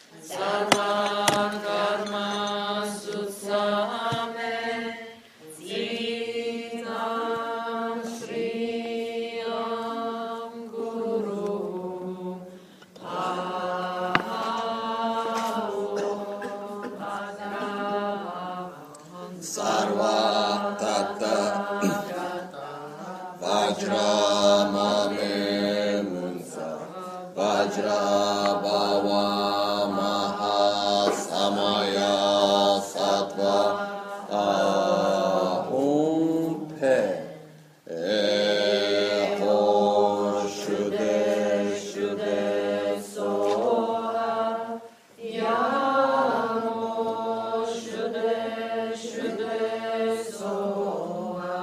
Sarva karma sutsame Zitam Shriyam Guru Sarva Tata Vajra Mame Munsa Vajra Bhava Maha Samaya Sattva Ahum Pe Eho Shude Shude Soha Yamo Shude Shude Soha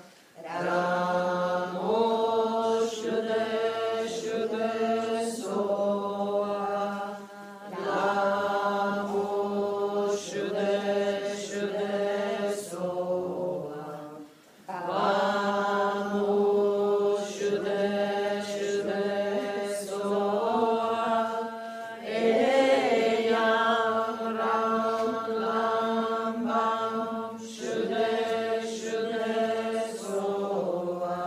Ramo Shude Shude Soha Lamo Shude Shude Soha Vamo Shude Shude Soha Eyam Ram Lambam Shude Shude Soha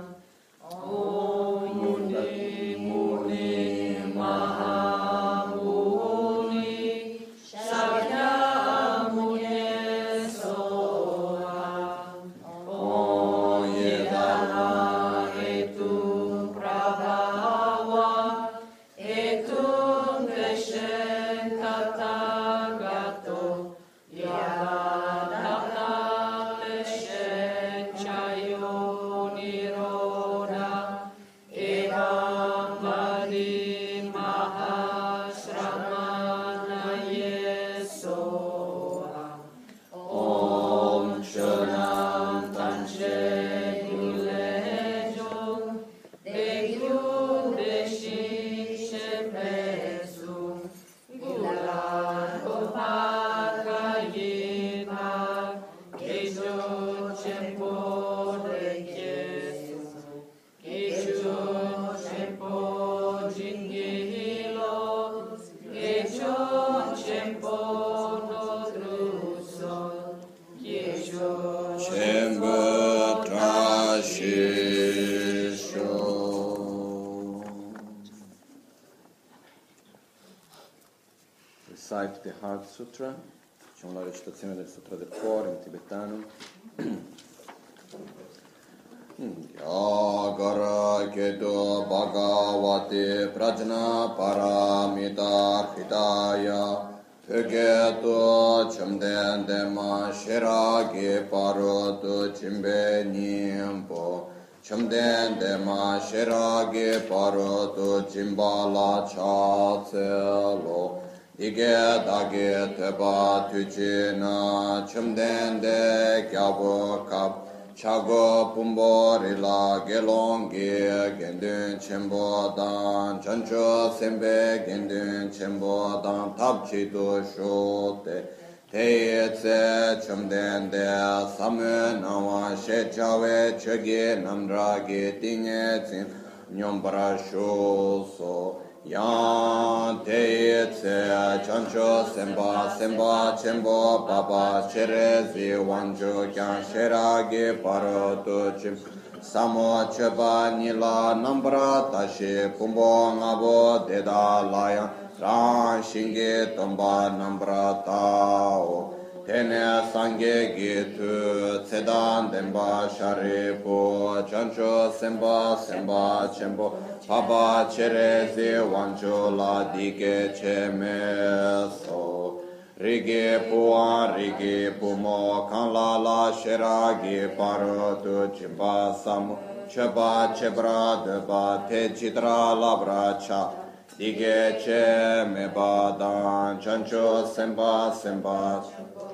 Om Muni Muni Mahamuni Shakyamuni Soha Om Yedana Etum Prabhava Etum Deshen Tathagato Yadana Deshen Chayo Niroda Evam Vadi Mahasramanaye Soha Om Shanam Tanche Gulejom Degyum Deshi Shepesu Gulan Opakayina Kejo Chempo Dekesu Kejo Chempo Jingilo Kejo Chempo Nodruso Kejo Chempo Trashisho. Recite the Heart Sutra, facciamo la recitazione del Sutra del Cuore in tibetano. Yagara Keto Bhagavate Prajna Paramita Hridaya Pögeto Chamden Dema Shiragi Paroto Chimbe Nyingpo Chamden Dema Shiragi Paroto Chimbala Chatselo Dige Dage Teba Tujina Chamden De Kyabo Kap Chago Pumbo Rila Gelongi Gendun Chembo Dan Chancho Sembe Gendun Chembo Dan Tapchido Shote Teye Tse Chamden De Samu Nawa Shechawe Chege Namdragi Tinye Tsin Nyombara Shoso Yan Teye Tse Chancho Semba Semba Chembo Baba Cherezi Wanjo Kyan Sheragi Paroto Chim Samo Cheba Nila Nambra Tashi Pumbo Ngabo Deda Layan Ran Shingi Tomba Nambra Tao Tene Sange Gitu Tsedan Demba Sharipo Chancho Semba Semba Chembo Baba Cherezi Wanjo La Dike Chemeso Rigi Puan Rigi Pumo Kanla La Sheragi Parotu Chimba Samu Cheba Chebra Deba Te Chitra Labra Cha Dige Che Meba Dan Chancho Semba Semba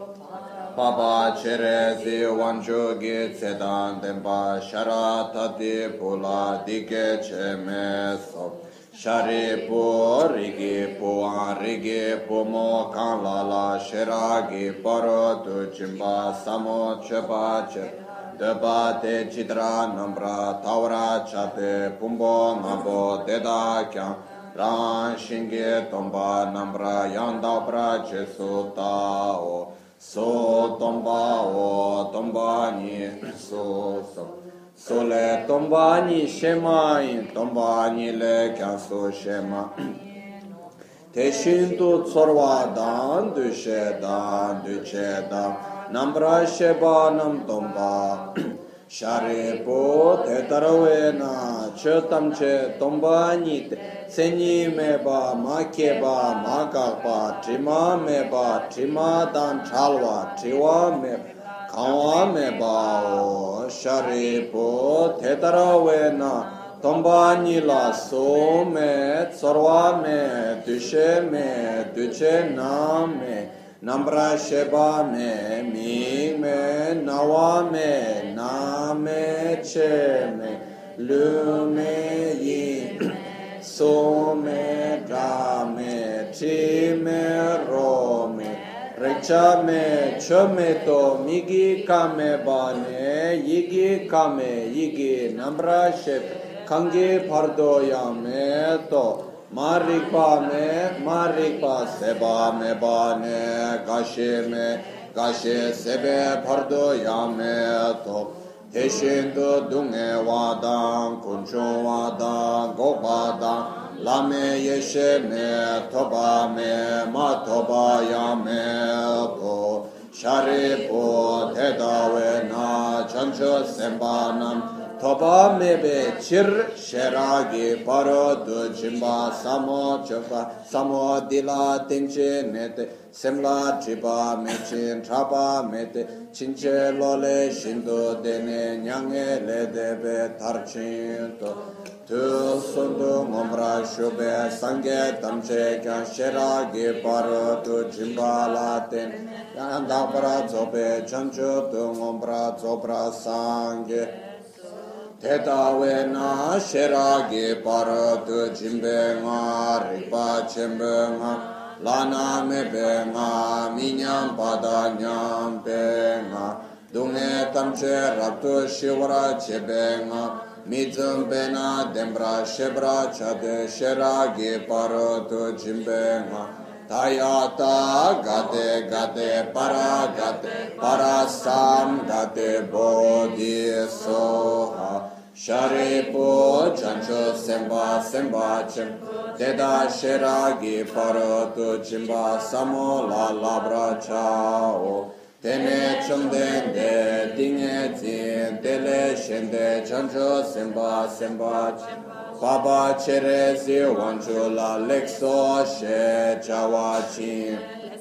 Baba Cherezi Wanjo Gi Tsedan Demba Sharata Di Pula Dige Che Meso Shari pu rigi puan rigi pumo kan la la shiragi paro tu chimba samo chepa che deba te chitra nambra tawra chate pumbo ngabo deda kyang Ran shinge tomba nambra yanda bra jesu tao so tomba o tomba ni so le tomba ni shema in tomba ni le kya so shema te shintu tsorwa dan du she dan du che dan nambra sheba nam tomba shari po te tarawe na che tam che tomba ni te seni me ba ma ke ba ma ka ba trima me ba trima dan chalwa triwa me kawa me ba o shari po te tarawe na tomba ni la so me tsorwa me dushe me duche na me nambra sheba me mi me nawa me na me che me lu me yin so me ra me chi me ro me recha me cho me to migi kame ba ne yigi kame yigi nambra sheba kange pardo ya me to marikpa seba me ba ne gashe sebe pardo ya me to teshindo dunge wadan kuncho wadan gobadan lame yeshe me toba me ma toba ya me to sharipo tedawe na chancho semba nam toba mebe chir sheragi paro du jimba samo chofa samo dila tenche nete semla jiba mechin traba mete chinche lole shindo dene nyange le debe tarchinto tu sundu ngomra shube sange tamche kya sheragi paro du jimba la ten yandabra zobe chancho tu ngombra zobra sange Tetawe na sheragi paratu jimbe nga ripa chembe nga lana mebe nga minyam pada nyambe nga dunge tamche raptu shivara chebe nga mizumbe na dembra shebra chade sheragi paratu jimbe nga Tayata gate para sam gate bodhi soha sharipo chancho semba chem deda sheragi paratu jimba samo la labra chao tene chomdende dinge zin tele shende chancho semba chem Baba Cherezi Wanchula Lexo She Chawachi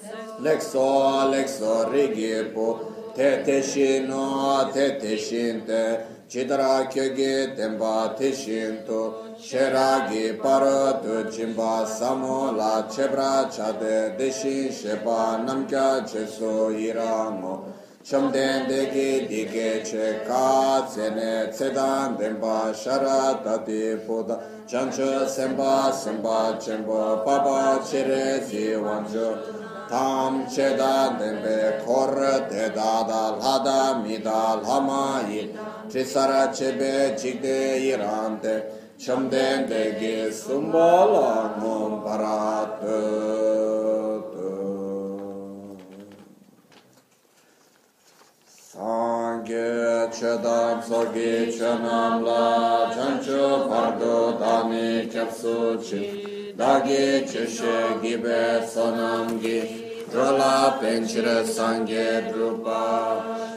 Lexo Rigipo Tete Shino Tete Shinte Chidra Kyogi Temba Tishinto Sheragi Paratu Jimba Samo La Chebra Chade Deshin Sheba Namkya Cheso Iramo Shamden degi dige che ka tsene tsedan denpa shara tati poda chancho semba chembo papa chere zi wancho tam cheda denpe kor teda da lhada mida lhama yin trisara chebe chikde irante shamden degi sumbala ngom paratu Sangye chedam sogi chanam la chancho pardo dani chapsu chi dagi cheshe gibe sonam gi drola penchire sangye drupa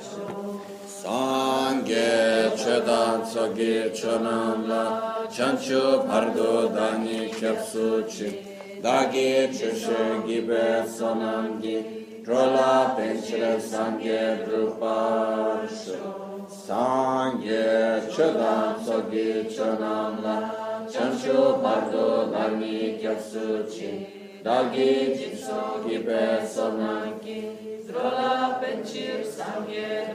Sangye chedam sogi chanam la chancho pardo dani chapsu chi dagi cheshe gibe sonam gi Drola penchire sangye drupasho Sangye chodam sogi chodam la Chancho pardo dharmi kyapsu chi Dagi jitso gibe sonanki Drola penchir sangye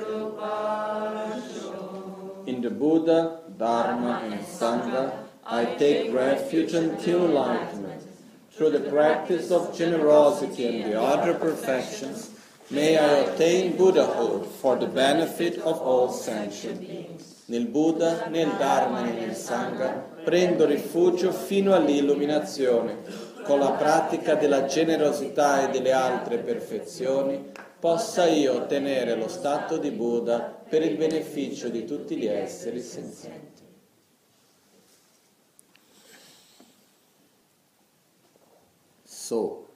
drupasho In the Buddha, Dharma and Sangha, I take refuge until enlightenment. Through the practice of generosity and the other perfections, may I attain Buddhahood for the benefit of all sentient beings. nel Buddha, nel Dharma e nel Sangha, prendo rifugio fino all'illuminazione. Con la pratica della generosità e delle altre perfezioni, possa io ottenere lo stato di Buddha per il beneficio di tutti gli esseri senzienti. So,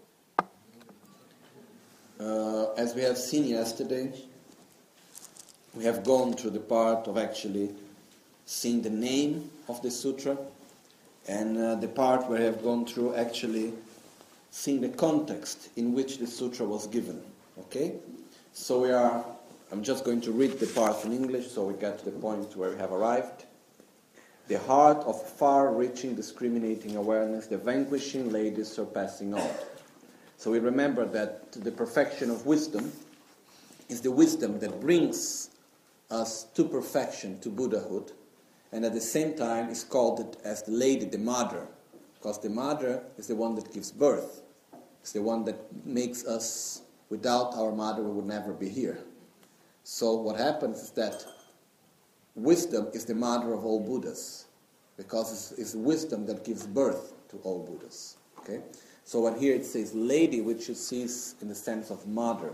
as we have seen yesterday, we have gone through the part of actually seeing the name of the sutra, and the part where we have gone through actually seeing the context in which the sutra was given. Okay? So I'm just going to read the part in English so we get to the point where we have arrived. The heart of far-reaching discriminating awareness, the vanquishing lady surpassing all. So we remember that the perfection of wisdom is the wisdom that brings us to perfection, to Buddhahood, and at the same time is called as the lady, the mother, because the mother is the one that gives birth. It's the one that makes us, without our mother we would never be here. So what happens is that wisdom is the mother of all Buddhas, because it's wisdom that gives birth to all Buddhas. Okay? So when here it says lady, which you see in the sense of mother.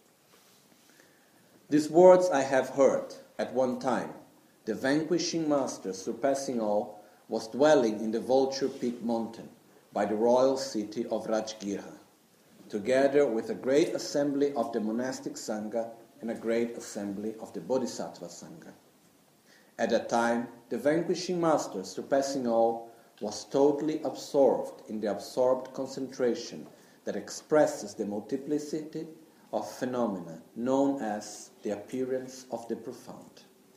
These words I have heard at one time. The vanquishing master, surpassing all, was dwelling in the Vulture Peak mountain by the royal city of Rajgirha, together with a great assembly of the monastic Sangha and a great assembly of the Bodhisattva Sangha. At that time, the vanquishing master, surpassing all, was totally absorbed in the absorbed concentration that expresses the multiplicity of phenomena known as the appearance of the profound.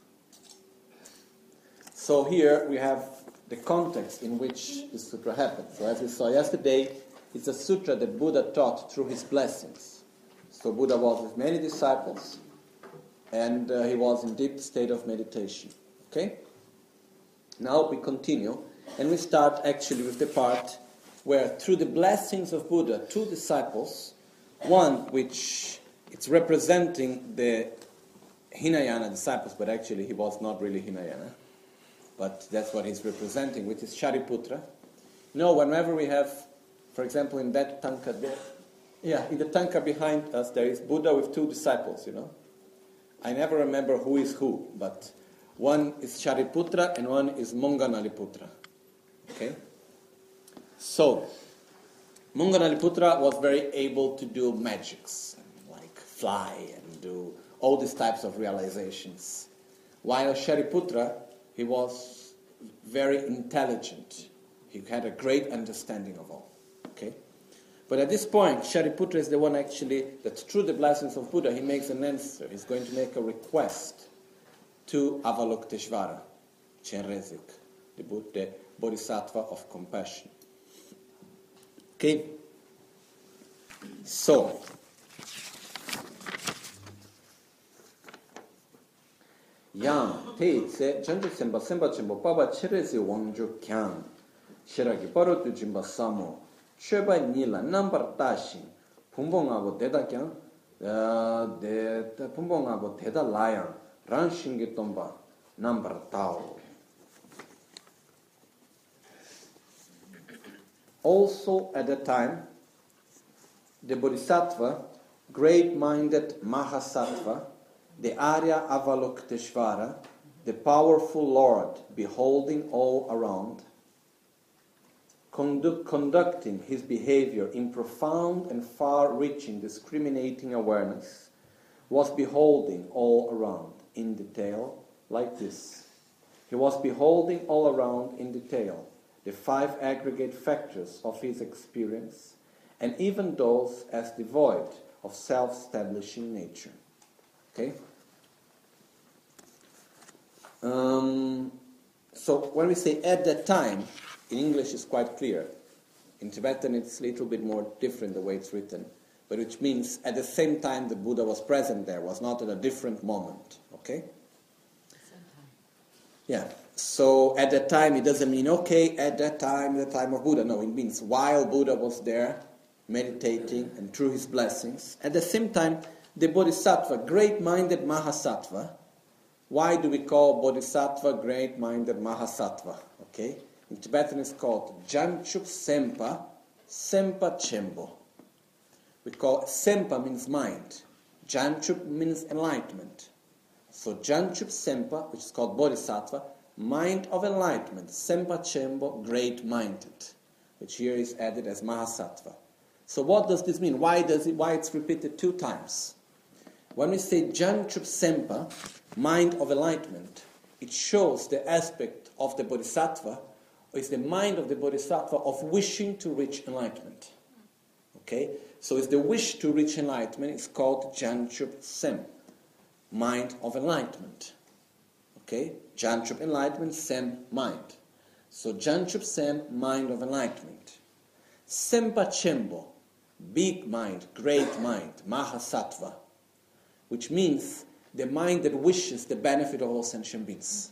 So here we have the context in which the sutra happens. So as we saw yesterday, it's a sutra that Buddha taught through his blessings. So Buddha was with many disciples, and he was in deep state of meditation. Okay? Now we continue, and we start actually with the part where through the blessings of Buddha, two disciples, one which it's representing the Hinayana disciples, but actually he was not really Hinayana, but that's what he's representing, which is Shariputra. You know, whenever we have, for example, in that tanka there, in the tanka behind us, there is Buddha with two disciples, you know. I never remember who is who, but one is Shariputra and one is Monganaliputra. Okay? So, Monganaliputra was very able to do magics, like fly and do all these types of realizations. While Shariputra, he was very intelligent. He had a great understanding of all. Okay? But at this point, Shariputra is the one actually that through the blessings of Buddha, he makes an answer. He's going to make a request to Avalokiteshvara, Chenrezig, the Bodhisattva of compassion. Okay? So, yang te tse janju semba chembo paba cherezi wangju kyang shiragi paro tu jimba samo cheba nila number tashin pumbongabo deda kyang de pumbongabo deda layang ranshingi tomba number tao. Also at that time, the Bodhisattva, great-minded Mahasattva, the Arya Avalokiteshvara, the powerful Lord, beholding all around, conducting his behavior in profound and far-reaching discriminating awareness, was beholding all around in detail like this. He was beholding all around in detail the five aggregate factors of his experience, and even those as devoid of self-establishing nature. Okay? So when we say at that time, in English it's quite clear. In Tibetan it's a little bit more different the way it's written, but which means at the same time the Buddha was present there, was not at a different moment. Okay? Yeah. So at that time it doesn't mean, okay, at that time, the time of Buddha. No, it means while Buddha was there, meditating and through his blessings. At the same time, the Bodhisattva, great-minded Mahasattva, Why do we call Bodhisattva great-minded Mahasattva? Okay? In Tibetan it's called Janchup Sempa, Sempa Chembo. We call Sempa means mind. Janchup means enlightenment. So Janchup Sempa, which is called Bodhisattva, mind of enlightenment. Sempa Chembo, great-minded, which here is added as Mahasattva. So what does this mean? Why it's repeated 2 times? When we say Janchup Sempa, mind of enlightenment, it shows the aspect of the Bodhisattva, or is the mind of the Bodhisattva of wishing to reach enlightenment. Okay? So it's the wish to reach enlightenment, it's called Janchup Sem, mind of enlightenment. Okay? Janchup enlightenment, Sem mind. So Janchup Sem, mind of enlightenment. Sempa Chembo, big mind, great mind, Mahasattva, which means the mind that wishes the benefit of all sentient beings.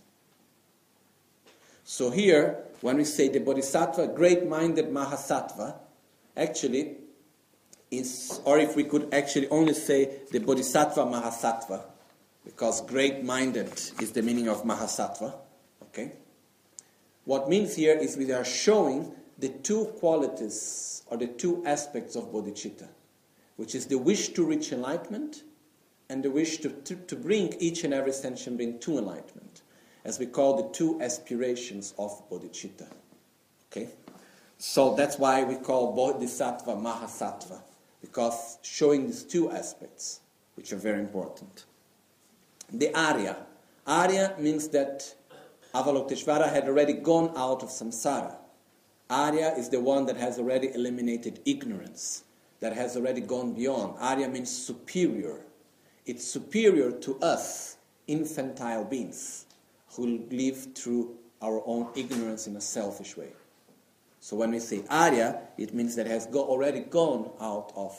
So here, when we say the Bodhisattva, great-minded Mahasattva, actually is, or if we could actually only say the Bodhisattva Mahasattva, because great-minded is the meaning of Mahasattva, okay? What means here is we are showing the 2 qualities, or the 2 aspects of bodhicitta, which is the wish to reach enlightenment, and the wish to bring each and every sentient being to enlightenment, as we call the 2 aspirations of bodhicitta. Okay? So that's why we call Bodhisattva Mahasattva, because showing these 2 aspects, which are very important. The Arya. Arya means that Avalokiteshvara had already gone out of samsara. Arya is the one that has already eliminated ignorance, that has already gone beyond. Arya means superior. It's superior to us, infantile beings, who live through our own ignorance in a selfish way. So when we say Arya, it means that it has already gone out of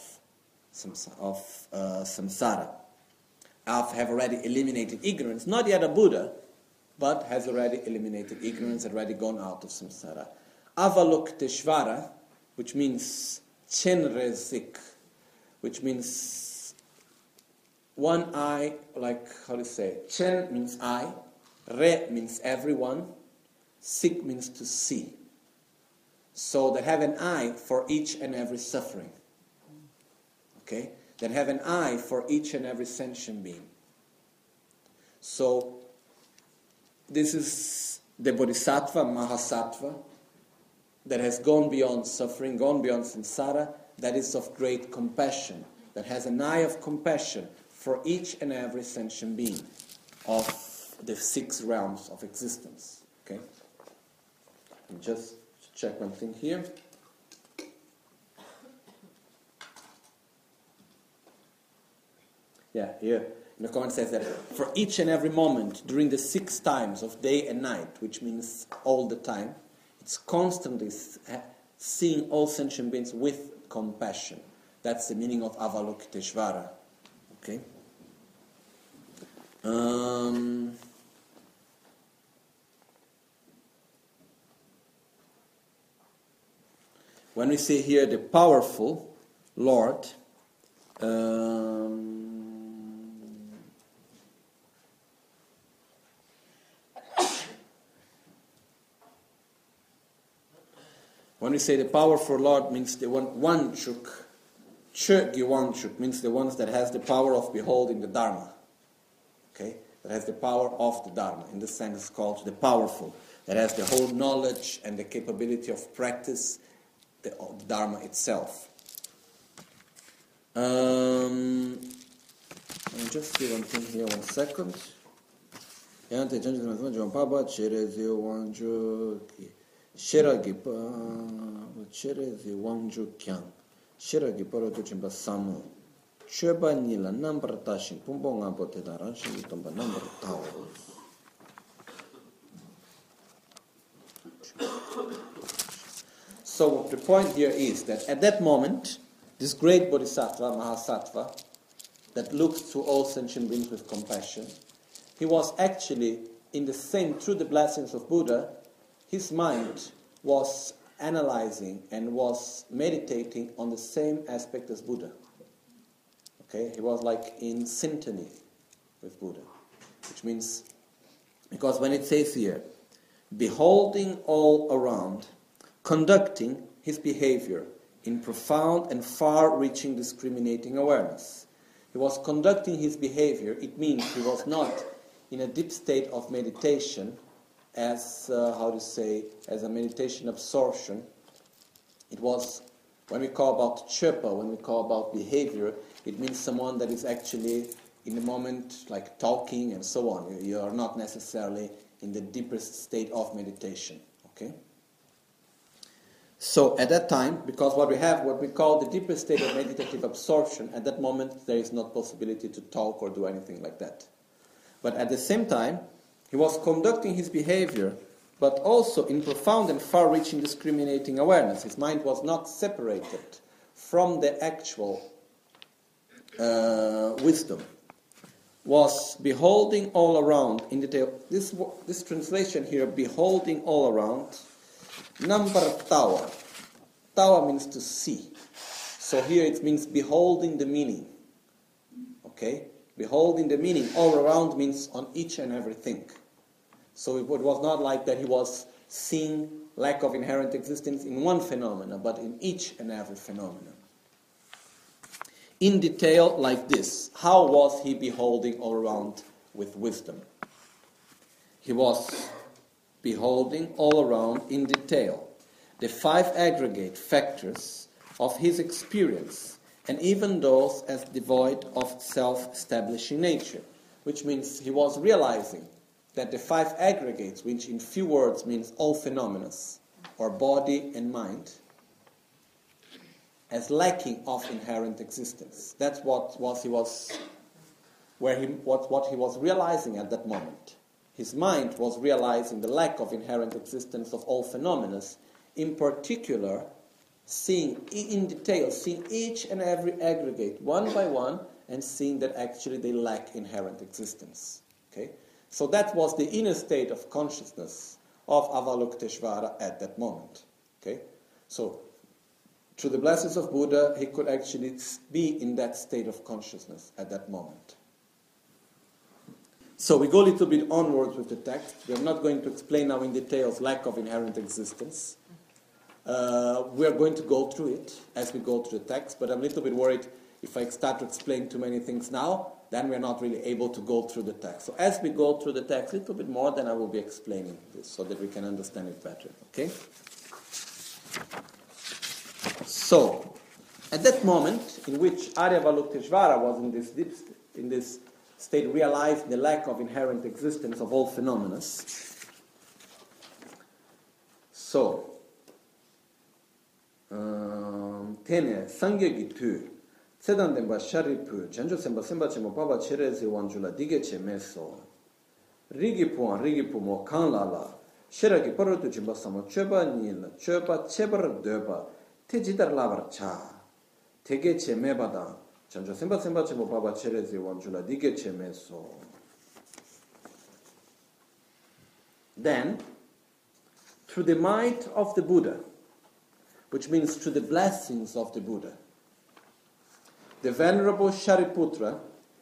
samsara. Have already eliminated ignorance, not yet a Buddha, but has already eliminated ignorance, already gone out of samsara. Avalokiteshvara, which means Chenrezik, which means one eye, like, how do you say? Chen means eye, Re means everyone, Sik means to see. So that have an eye for each and every suffering. Okay? That have an eye for each and every sentient being. So, this is the Bodhisattva, Mahasattva, that has gone beyond suffering, gone beyond samsara, that is of great compassion, that has an eye of compassion for each and every sentient being of the 6 realms of existence. Okay? And just check one thing here. Yeah, here in the comment says that for each and every moment during the 6 times of day and night, which means all the time, it's constantly seeing all sentient beings with compassion. That's the meaning of Avalokiteshvara. Okay? When we say here the powerful Lord, when we say the powerful Lord means the one Chuk, Chuk means the ones that has the power of beholding the Dharma. Okay? That has the power of the Dharma. In this sense it's called the powerful. That has the whole knowledge and the capability of practice the Dharma itself. I'll just see one thing here, 1 second. Shiragi Paroto Chimba Samu. Cheba Nila number tashing, Pumbonga Botedara, Shimitomba number towers. So the point here is that at that moment, this great Bodhisattva, Mahasattva, that looks to all sentient beings with compassion, he was actually in the same, through the blessings of Buddha, his mind was analyzing and was meditating on the same aspect as Buddha. Okay, he was like in syntony with Buddha. which means, because when it says here, beholding all around, conducting his behavior in profound and far-reaching discriminating awareness. He was conducting his behavior, it means he was not in a deep state of meditation as, as a meditation absorption. It was, when we call about chepa, when we call about behavior, it means someone that is actually in the moment, like talking and so on. You are not necessarily in the deepest state of meditation, okay? So at that time, because what we call the deepest state of meditative absorption, at that moment there is no possibility to talk or do anything like that. But at the same time, he was conducting his behavior, but also in profound and far-reaching discriminating awareness. His mind was not separated from the actual wisdom. Was beholding all around in detail. This translation here, beholding all around, number tawa. Tawa means to see. So here it means beholding the meaning. Okay? Beholding the meaning all around means on each and everything. So it was not like that he was seeing lack of inherent existence in one phenomena, but in each and every phenomenon. In detail like this, how was he beholding all around with wisdom? He was beholding all around in detail the 5 aggregate factors of his experience, and even those as devoid of self-establishing nature, which means he was realizing that the 5 aggregates, which in few words means all phenomena, or body and mind, as lacking of inherent existence. That's what he was realizing at that moment. His mind was realizing the lack of inherent existence of all phenomena, in particular, seeing in detail, seeing each and every aggregate one by one, and seeing that actually they lack inherent existence. Okay? So that was the inner state of consciousness of Avalokiteshvara at that moment. Okay? So through the blessings of Buddha, he could actually be in that state of consciousness at that moment. So we go a little bit onwards with the text. We are not going to explain now in details lack of inherent existence. We are going to go through it as we go through the text, but I'm a little bit worried if I start to explain too many things now, then we're not really able to go through the text. So as we go through the text a little bit more, then I will be explaining this so that we can understand it better. Okay? So, at that moment in which Arya Avalokiteshvara was in this state, realized the lack of inherent existence of all phenomena. So, tene sangyagi tu tsedan denpa sharipu janjo semba semba chemo baba cherezi wanjula dige che meso rigi pu mo kanla la shiragi parotu jimba samo choba nil choba chebar deba Tejidar lavar cha, tege che me bada, chanjo semba che mo baba cherezi wanjula dige che me so. Then, through the might of the Buddha, which means through the blessings of the Buddha, the Venerable Shariputra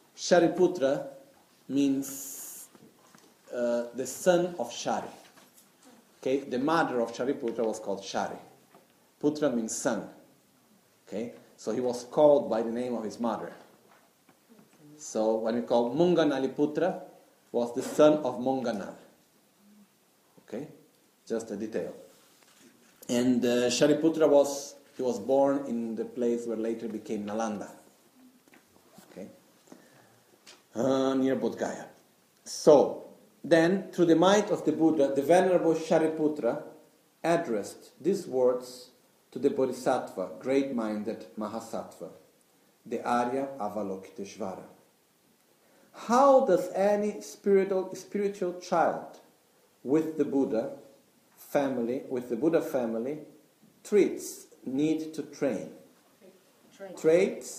means the son of Shari. Okay, the mother of Shariputra was called Shari. Putra means son. Okay? So he was called by the name of his mother. So when we call Munganali Putra, was the son of Munganal. Okay? Just a detail. And Shariputra was born in the place where later became Nalanda. Okay? Near Bodh Gaya. So, then, through the might of the Buddha, the Venerable Shariputra addressed these words to the Bodhisattva, great-minded Mahasattva, the Arya Avalokiteshvara. How does any spiritual child with the Buddha family, treats need to train? Traits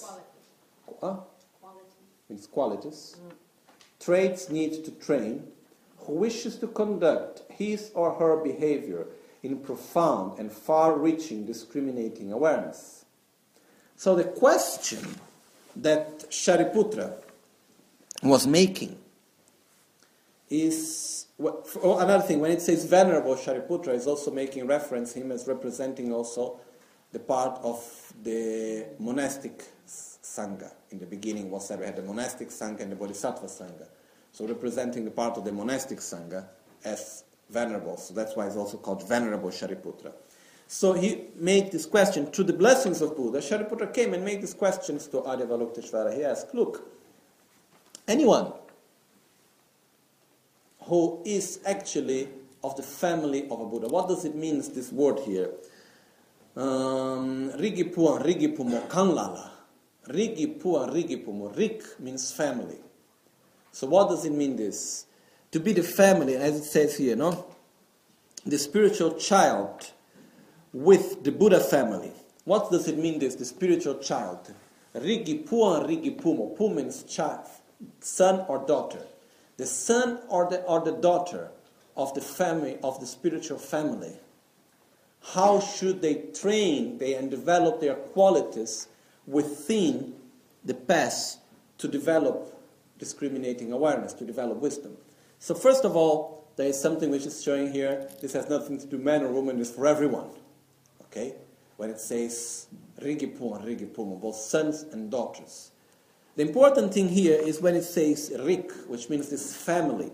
means qualities. Traits need to train, who wishes to conduct his or her behavior in profound and far-reaching discriminating awareness. So the question that Shariputra was making is another thing. When it says Venerable Shariputra, is also making reference him as representing also the part of the monastic sangha. In the beginning, we had the monastic sangha and the bodhisattva sangha. So representing the part of the monastic sangha as venerable. So that's why it's also called Venerable Shariputra. So he made this question, through the blessings of Buddha, Shariputra came and made these questions to Adi Avalokiteshvara. He asked, look, anyone who is actually of the family of a Buddha, what does it mean, this word here? Rigipuan, Rigipumo, Kanlala. Rigipuan, Rigipumo. Rig means family. So what does it mean this? To be the family, as it says here, no? The spiritual child with the Buddha family. What does it mean this, the spiritual child? Rigipuan, Rigipumo. Pu means child, son or daughter. The son or the daughter of the family, of the spiritual family. How should they train and develop their qualities within the path to develop discriminating awareness, to develop wisdom? So first of all, there is something which is showing here. This has nothing to do man or woman, it's for everyone. Okay? When it says Rigipuan, Rigipumo, both sons and daughters. The important thing here is when it says Rik, which means this family.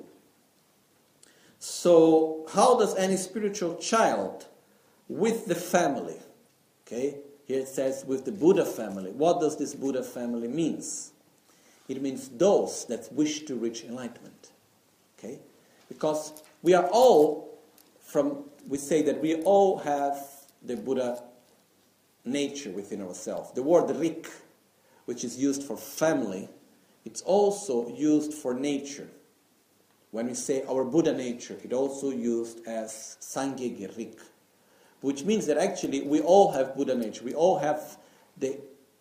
So how does any spiritual child with the family, okay, here it says with the Buddha family, what does this Buddha family means? It means those that wish to reach enlightenment, okay? Because we are all, we say that we all have the Buddha nature within ourselves. The word Rik, which is used for family, it's also used for nature. When we say our Buddha nature, it's also used as Sanghya Rik, which means that actually we all have Buddha nature. We all have the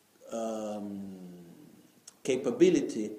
capability,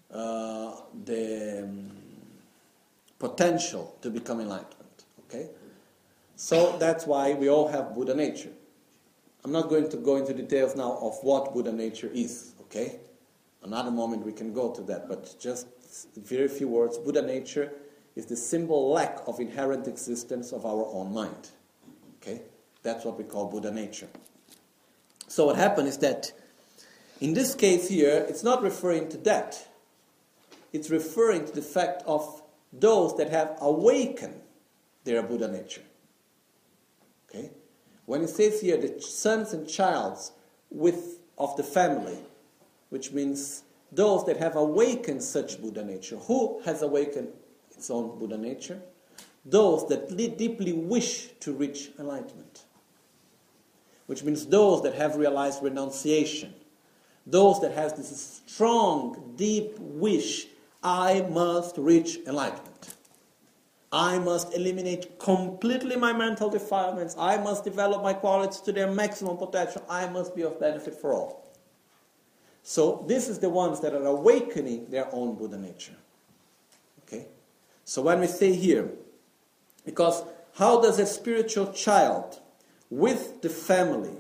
the potential to become enlightened. Okay? So that's why we all have Buddha nature. I'm not going to go into details now of what Buddha nature is, okay? Another moment we can go to that, but just very few words. Buddha nature is the simple lack of inherent existence of our own mind. Okay? That's what we call Buddha nature. So what happened is that in this case here, it's not referring to that. It's referring to the fact of those that have awakened their Buddha nature. Okay? When it says here the sons and childs of the family, which means those that have awakened such Buddha nature. Who has awakened its own Buddha nature? Those that deeply wish to reach enlightenment. Which means those that have realized renunciation. Those that have this strong, deep wish, I must reach enlightenment. I must eliminate completely my mental defilements. I must develop my qualities to their maximum potential. I must be of benefit for all. So this is the ones that are awakening their own Buddha nature. Okay? So when we say here, because how does a spiritual child with the family,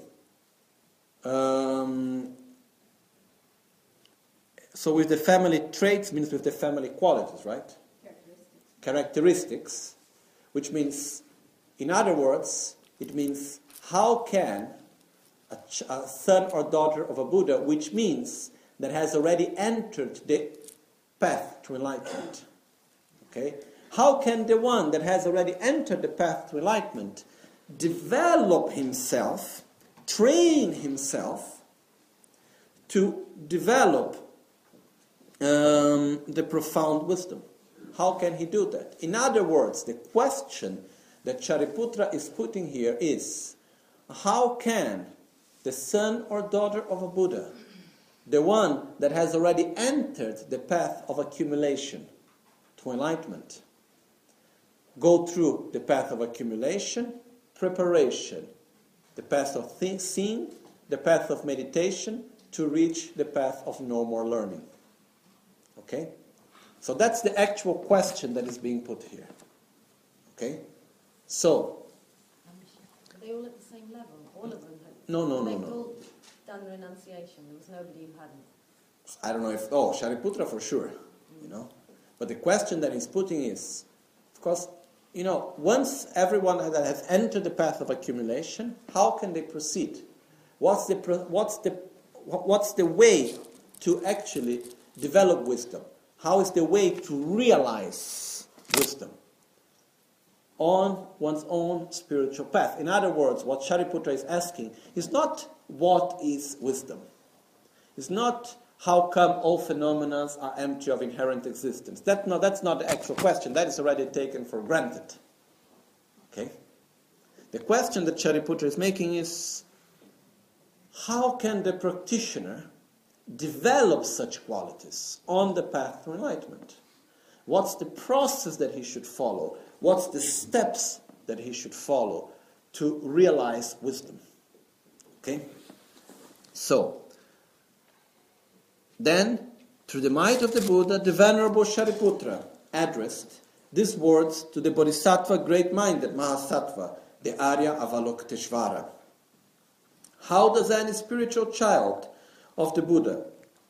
so with the family traits means with the family qualities, right? Characteristics, which means, in other words, it means how can a son or daughter of a Buddha, which means that has already entered the path to enlightenment. Okay? How can the one that has already entered the path to enlightenment develop himself, train himself to develop the profound wisdom? How can he do that? In other words, the question that Shariputra is putting here is, how can the son or daughter of a Buddha, the one that has already entered the path of accumulation to enlightenment, go through the path of accumulation, preparation, the path of seeing, the path of meditation, to reach the path of no more learning? Okay? So that's the actual question that is being put here. Okay? So, Are they all at the same level? All of them had... No. They've all done renunciation. There was nobody who hadn't. I don't know if... Shariputra for sure. You know? But the question that he's putting is, of course, once everyone that has entered the path of accumulation, how can they proceed? What's the way to actually develop wisdom? How is the way to realize wisdom on one's own spiritual path? In other words, what Shariputra is asking is not what is wisdom. It's not how come all phenomena are empty of inherent existence. That's not the actual question. That is already taken for granted. Okay? The question that Shariputra is making is, how can the practitioner develop such qualities on the path to enlightenment? What's the process that he should follow? What's the steps that he should follow to realize wisdom? Okay? So, then, through the might of the Buddha, the Venerable Shariputra addressed these words to the Bodhisattva great-minded Mahasattva, the Arya Avalokiteshvara. How does any spiritual child of the Buddha?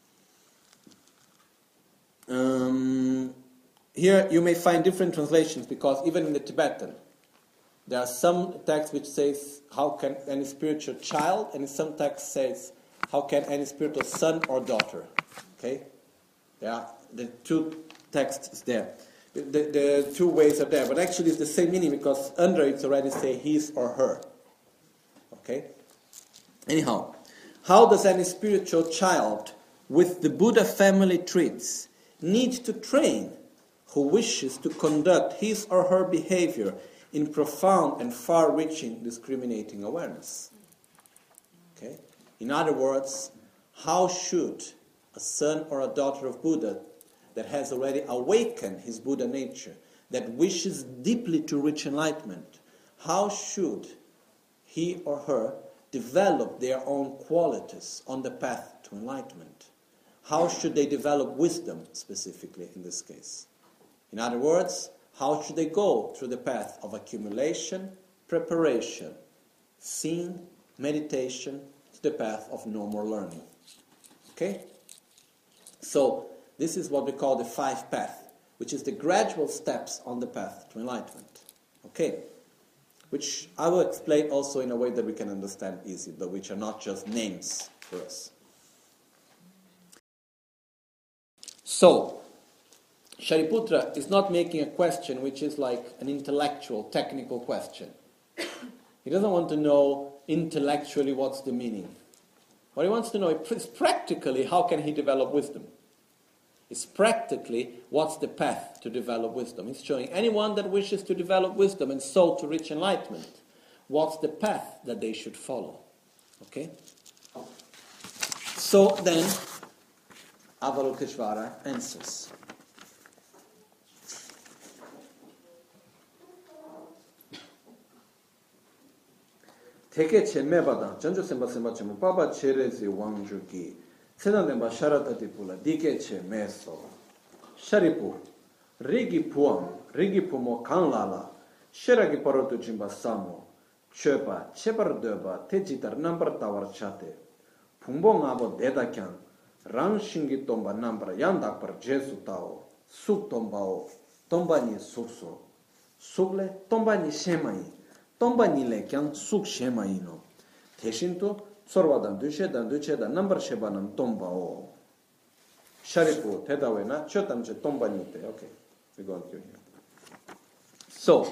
Here you may find different translations, because even in the Tibetan, there are some texts which says, how can any spiritual child, and some text says, how can any spiritual son or daughter? Okay? There are the two texts there. The two ways are there, but actually it's the same meaning, because under it's already say his or her. Okay? Anyhow, how does any spiritual child with the Buddha family traits need to train who wishes to conduct his or her behavior in profound and far-reaching discriminating awareness? Okay? In other words, how should a son or a daughter of Buddha that has already awakened his Buddha nature, that wishes deeply to reach enlightenment, how should he or her develop their own qualities on the path to enlightenment? How should they develop wisdom, specifically in this case? In other words, how should they go through the path of accumulation, preparation, seeing, meditation, to the path of no more learning? Okay? So, this is what we call the five path, which is the gradual steps on the path to enlightenment. Okay? Which I will explain also in a way that we can understand easy, but which are not just names for us. So, Shariputra is not making a question which is like an intellectual, technical question. He doesn't want to know intellectually what's the meaning. What he wants to know is practically how can he develop wisdom. It's practically what's the path to develop wisdom. He's showing anyone that wishes to develop wisdom and so to reach enlightenment, what's the path that they should follow. Okay? So then, Avalokiteshvara answers. Teke che mebada, janjo semba semba chemo, papa cherezi wangjuki, sedandenba sharatati pula, dike che meso. Sharipu, rigi pumo kanlala, sheragi parotu jimba samo, chepa, chepar deba, tejitar nambar tawar chate, pumbo ngabo deda kyang, rang shingi tomba nambra yandak par jesu tao, suk tombao, tomba ni sukso, sukle tomba ni shemai, tomba ni le kyang suk shemai no, teshinto sorwadan duche nambar shebanam tombao. Sharipu tedawena chotamche tomba ni te. Okay, we go on through here. So,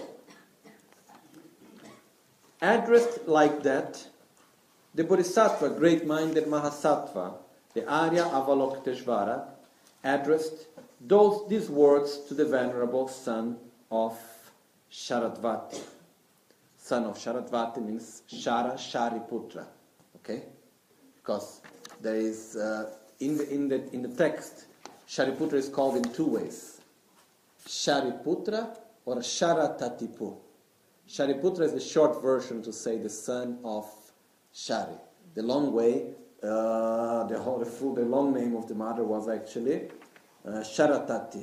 addressed like that, the Bodhisattva, great-minded Mahasattva, the Arya Avalokiteshvara, addressed these words to the venerable son of Sharadvati. Son of Sharadvati means Shariputra. Okay? Because there is, in the text, Shariputra is called in two ways. Shariputra or Sharatatipu. Shariputra is the short version to say the son of Shari. The long way, the long name of the mother was actually Sharatati.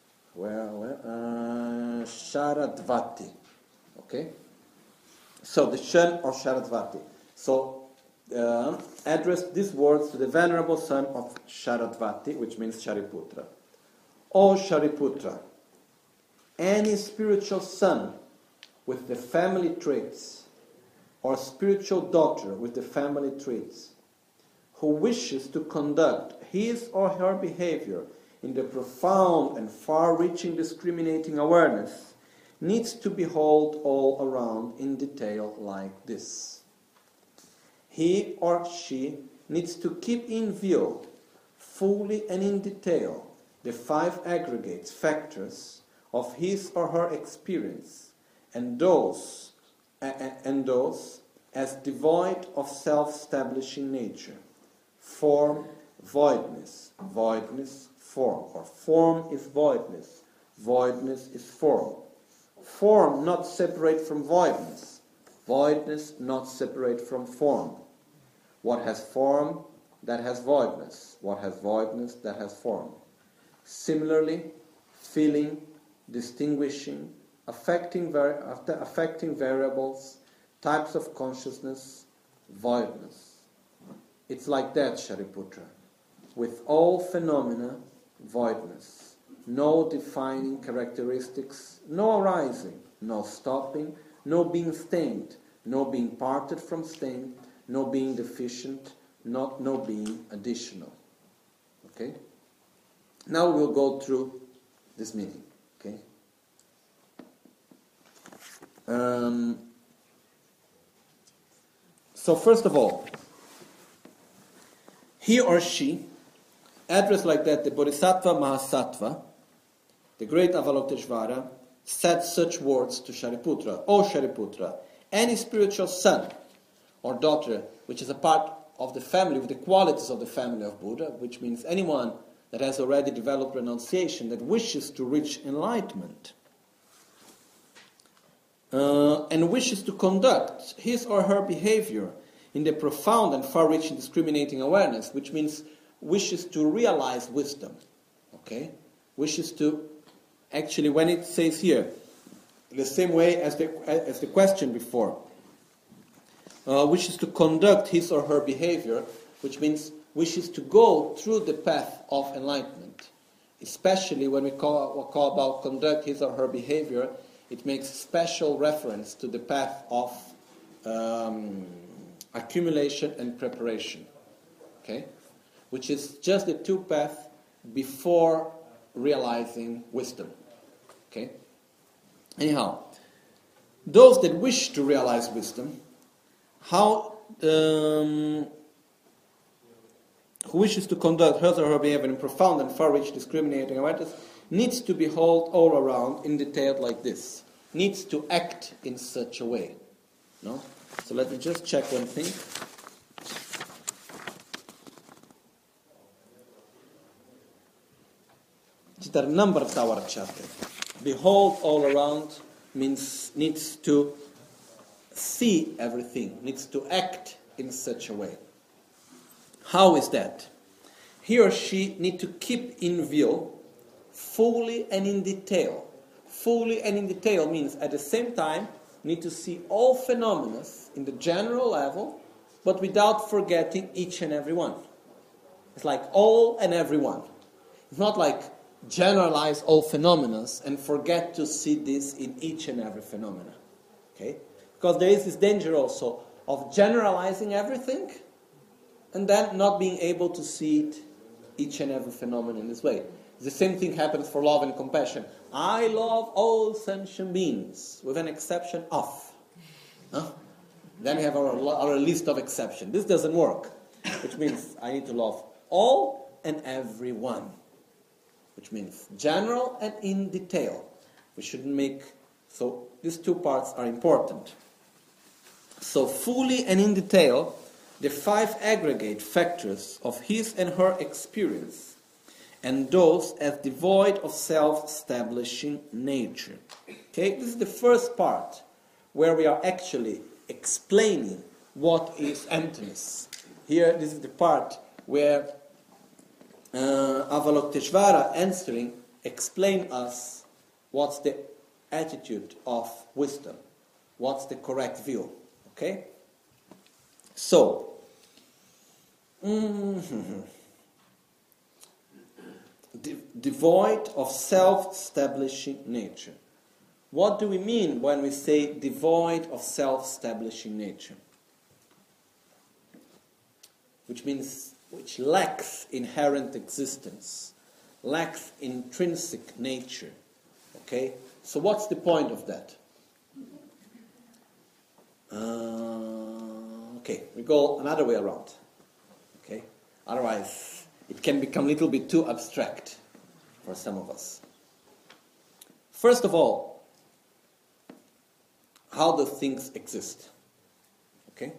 Sharadvati. Okay? So the son of Sharadvati. So addressed these words to the venerable son of Sharadvati, which means Shariputra. O Shariputra, any spiritual son with the family traits or spiritual daughter with the family traits who wishes to conduct his or her behavior in the profound and far-reaching discriminating awareness needs to behold all around in detail like this. He or she needs to keep in view, fully and in detail, the 5 aggregates, factors of his or her experience, and those as devoid of self-establishing nature. Form, voidness, voidness, form, or form is voidness, voidness is form. Form not separate from voidness, voidness not separate from form. What has form, that has voidness. What has voidness, that has form. Similarly, feeling, distinguishing, affecting variables, types of consciousness, voidness. It's like that, Shariputra. With all phenomena, voidness. No defining characteristics, no arising, no stopping, no being stained, no being parted from stained, no being deficient, no being additional. Okay? Now we'll go through this meaning. Okay? So first of all, he or she addressed like that the Bodhisattva Mahasattva, the great Avalokiteshvara, said such words to Shariputra. O Shariputra, any spiritual son or daughter which is a part of the family, with the qualities of the family of Buddha, which means anyone that has already developed renunciation, that wishes to reach enlightenment, and wishes to conduct his or her behavior in the profound and far-reaching discriminating awareness, which means wishes to realize wisdom. Okay? Wishes to, actually, when it says here, the same way as the question before, wishes to conduct his or her behavior, which means wishes to go through the path of enlightenment. Especially when we call about conduct his or her behavior, it makes special reference to the path of accumulation and preparation. Okay? Which is just the 2 paths before realizing wisdom. Okay? Anyhow, those that wish to realize wisdom, who wishes to conduct his or her behavior in profound and far-reaching discriminating awareness, needs to behold all around in detail like this. Needs to act in such a way. No? So let me just check one thing. There are number tower chapter. Behold all around means needs to see everything, needs to act in such a way. How is that? He or she need to keep in view fully and in detail. Fully and in detail means at the same time need to see all phenomena in the general level, but without forgetting each and every one. It's like all and every one. It's not like generalize all phenomena and forget to see this in each and every phenomena. Okay? Because there is this danger also of generalizing everything and then not being able to see it, each and every phenomenon in this way. The same thing happens for love and compassion. I love all sentient beings, with an exception of. Then we have our list of exceptions. This doesn't work, which means I need to love all and everyone, which means general and in detail. We shouldn't make... So these 2 parts are important. So fully and in detail, the 5 aggregate factors of his and her experience, and those as devoid of self-establishing nature. Okay, this is the first part where we are actually explaining what is emptiness. Here, this is the part where Avalokiteshvara answering explain us what's the attitude of wisdom, what's the correct view. Okay? So, devoid of self-establishing nature. What do we mean when we say devoid of self-establishing nature? Which means which lacks inherent existence, lacks intrinsic nature. Okay? So what's the point of that? Okay, we go another way around. Okay? Otherwise, it can become a little bit too abstract for some of us. First of all, how do things exist? Okay?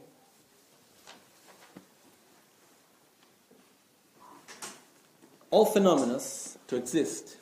All phenomena to exist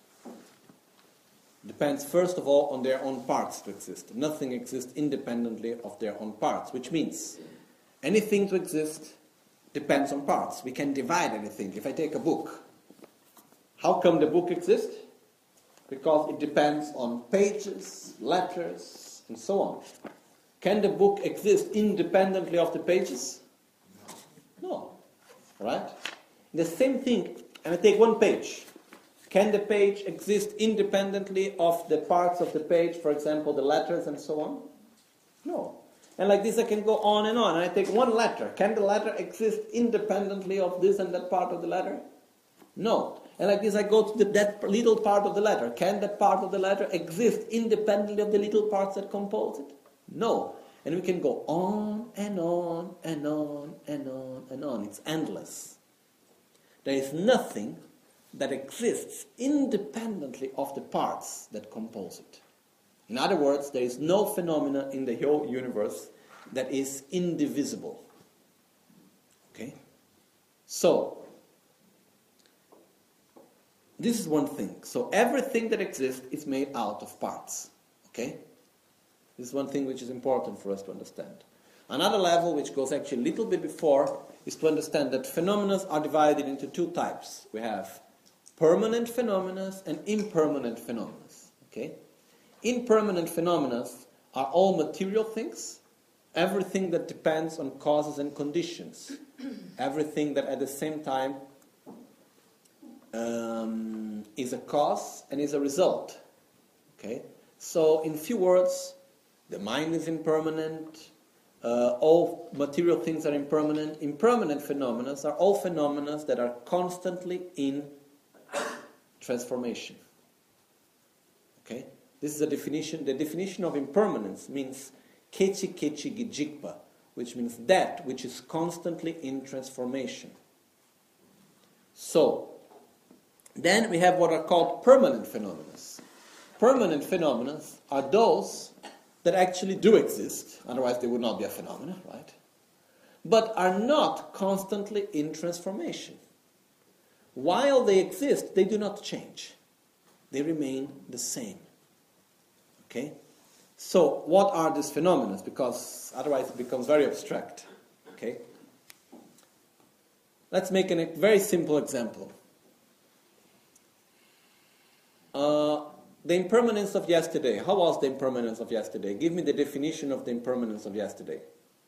depends first of all on their own parts to exist. Nothing exists independently of their own parts, which means anything to exist depends on parts. We can divide anything. If I take a book, how come the book exists? Because it depends on pages, letters, and so on. Can the book exist independently of the pages? No. Right? The same thing, and I take one page. Can the page exist independently of the parts of the page, for example, the letters and so on? No. And like this I can go on, and I take one letter. Can the letter exist independently of this and that part of the letter? No. And like this I go to that little part of the letter. Can that part of the letter exist independently of the little parts that compose it? No. And we can go on and on and on and on and on. It's endless. There is nothing that exists independently of the parts that compose it. In other words, there is no phenomena in the whole universe that is indivisible. Okay? So, this is one thing. So everything that exists is made out of parts. Okay? This is one thing which is important for us to understand. Another level, which goes actually a little bit before, is to understand that phenomena are divided into two types. We have permanent phenomena and impermanent phenomena. Okay? Impermanent phenomena are all material things, everything that depends on causes and conditions, everything that at the same time is a cause and is a result. Okay? So, in few words, the mind is impermanent, all material things are impermanent. Impermanent phenomena are all phenomena that are constantly in transformation. Okay? This is a definition. The definition of impermanence means kechi kechi gijikpa, which means that which is constantly in transformation. So, then we have what are called permanent phenomena. Permanent phenomena are those that actually do exist, otherwise they would not be a phenomenon, right? But are not constantly in transformation. While they exist, they do not change. They remain the same. Okay? So, what are these phenomena? Because otherwise it becomes very abstract. Okay? Let's make a very simple example. The impermanence of yesterday. How was the impermanence of yesterday? Give me the definition of the impermanence of yesterday.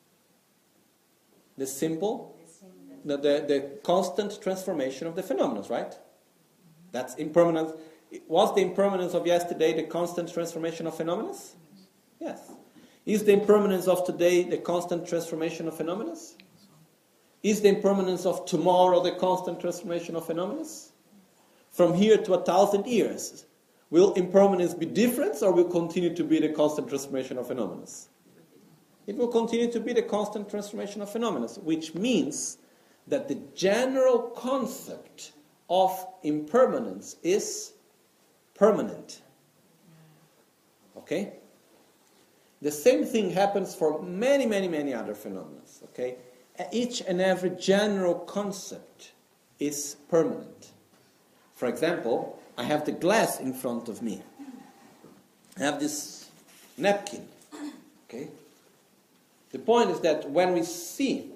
The simple, the constant transformation of the phenomena, right? That's impermanence. Was the impermanence of yesterday the constant transformation of phenomena? Yes. Is the impermanence of today the constant transformation of phenomena? Is the impermanence of tomorrow the constant transformation of phenomena? From here to 1,000 years, will impermanence be different or will continue to be the constant transformation of phenomena? It will continue to be the constant transformation of phenomena, which means that the general concept of impermanence is permanent. Okay? The same thing happens for many, many, many other phenomena. Okay? Each and every general concept is permanent. For example, I have the glass in front of me. I have this napkin. Okay? The point is that when we see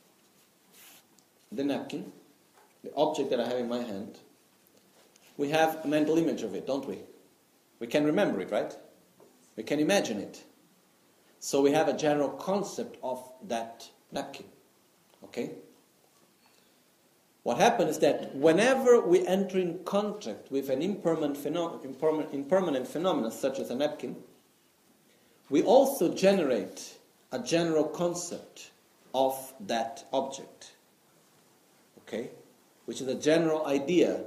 the napkin, the object that I have in my hand, we have a mental image of it, don't we? We can remember it, right? We can imagine it. So we have a general concept of that napkin. Okay? What happens is that whenever we enter in contact with an impermanent phenomenon such as a napkin, we also generate a general concept of that object, okay, which is a general idea.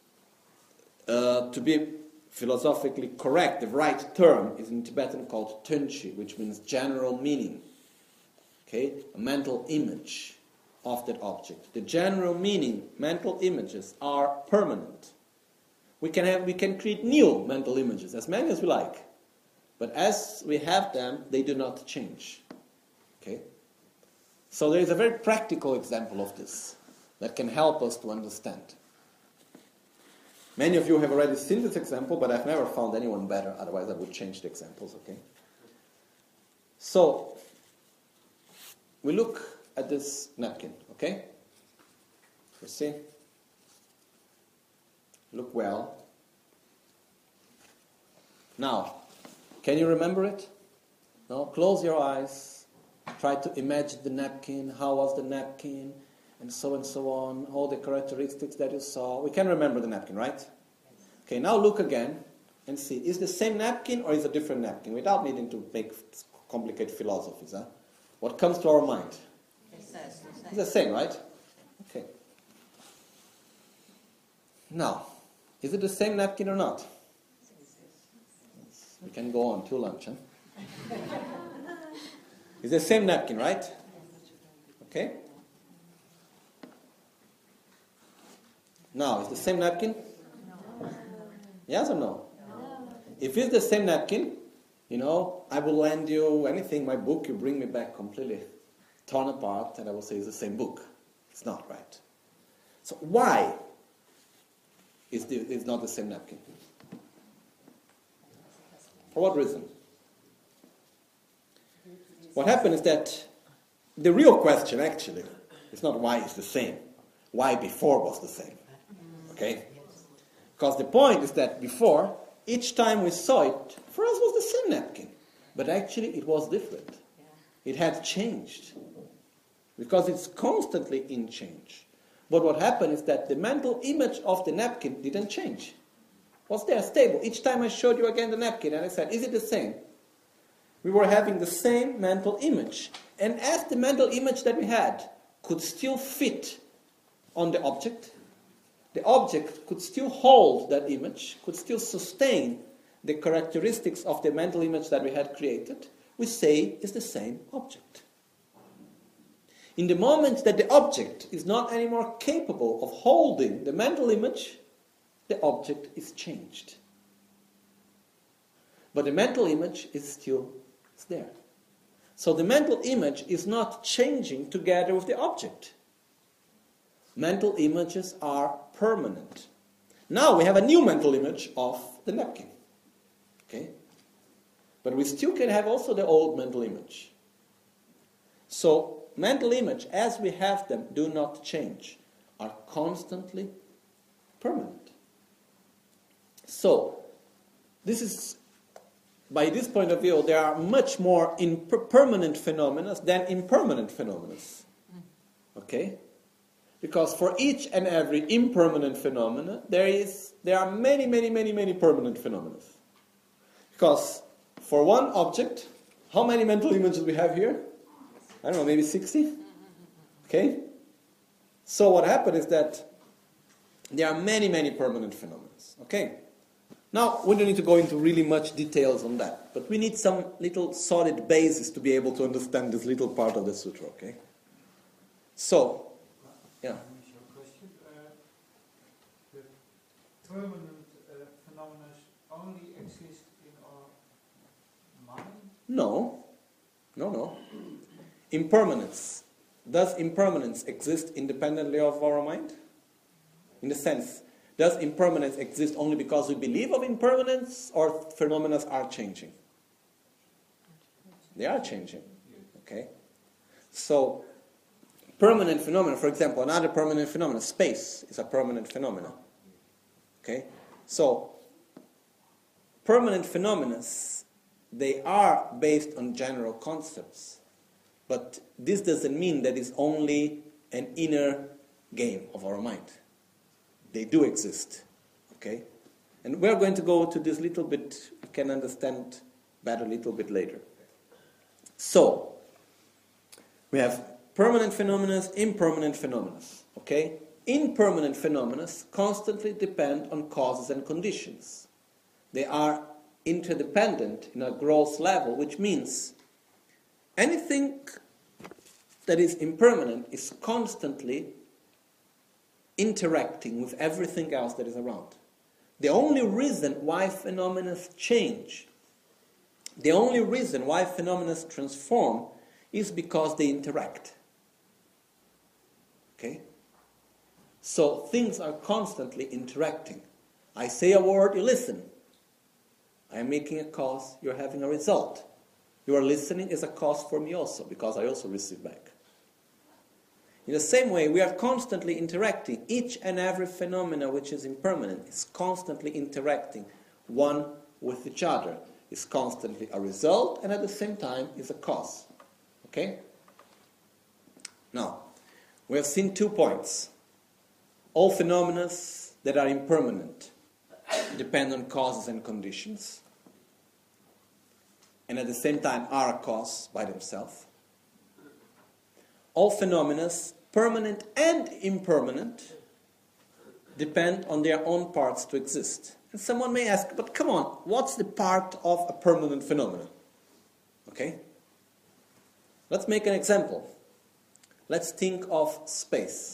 To be philosophically correct, the right term is in Tibetan called tunchi, which means general meaning, okay, a mental image of that object. The general meaning, mental images, are permanent. We can create new mental images, as many as we like, but as we have them, they do not change. Okay? So there is a very practical example of this that can help us to understand. Many of you have already seen this example, but I've never found anyone better, otherwise I would change the examples, okay? So, we look at this napkin, okay? You see? Look well. Now, can you remember it? No? Close your eyes. Try to imagine the napkin. How was the napkin? And so on. All the characteristics that you saw. We can remember the napkin, right? Okay, now look again and see. Is the same napkin or is it a different napkin? Without needing to make complicated philosophies. Huh? What comes to our mind? It's the same, right? Okay. Now, is it the same napkin or not? We can go on till lunch, huh? It's the same napkin, right? Okay. Now, is the same napkin? Yes or no? If it's the same napkin, I will lend you anything, my book, you bring me back completely torn apart, and I will say it's the same book. It's not, right? So why is it's not the same napkin? For what reason? What happened is that the real question, actually, is not why it's the same. Why before was the same. Okay? Because the point is that before, each time we saw it, for us was the same napkin. But actually it was different. It had changed. Because it's constantly in change. But what happened is that the mental image of the napkin didn't change. Was there stable. Each time I showed you again the napkin and I said, is it the same? We were having the same mental image. And as the mental image that we had could still fit on the object could still hold that image, could still sustain the characteristics of the mental image that we had created, we say it's the same object. In the moment that the object is not anymore capable of holding the mental image, the object is changed. But the mental image is still there. So the mental image is not changing together with the object. Mental images are permanent. Now we have a new mental image of the napkin. Okay? But we still can have also the old mental image. So mental image, as we have them, do not change, are constantly permanent. So, this is, by this point of view, there are much more permanent phenomena than impermanent phenomena. Okay? Because for each and every impermanent phenomena, there are many, many, many, many permanent phenomena. Because for one object, how many mental images we have here? I don't know, maybe 60? Okay? So what happened is that there are many, many permanent phenomena. Okay? Now, we don't need to go into really much details on that, but we need some little solid basis to be able to understand this little part of the sutra, okay? So, yeah. Question. The permanent phenomena only exist in our mind? No. Impermanence. Does impermanence exist independently of our mind? In the sense, does impermanence exist only because we believe of impermanence, or phenomena are changing? They are changing. Okay? So, permanent phenomena, for example, another permanent phenomenon, space is a permanent phenomenon. Okay? So, permanent phenomena, they are based on general concepts. But this doesn't mean that it's only an inner game of our mind. They do exist. Okay? And we're going to go to this little bit, you can understand better a little bit later. So, we have permanent phenomena, impermanent phenomena. Okay? Impermanent phenomena constantly depend on causes and conditions. They are interdependent in a gross level, which means anything that is impermanent is constantly interacting with everything else that is around. The only reason why phenomena change, the only reason why phenomena transform is because they interact. Okay? So things are constantly interacting. I say a word, you listen. I am making a cause, you're having a result. Your listening is a cause for me also, because I also receive back. In the same way, we are constantly interacting. Each and every phenomena which is impermanent is constantly interacting one with each other. Is constantly a result and at the same time is a cause. Okay? Now, we have seen 2 points. All phenomena that are impermanent depend on causes and conditions, and at the same time are a cause by themselves. All phenomena, permanent and impermanent, depend on their own parts to exist. And someone may ask, but come on, what's the part of a permanent phenomenon? Okay? Let's make an example. Let's think of space.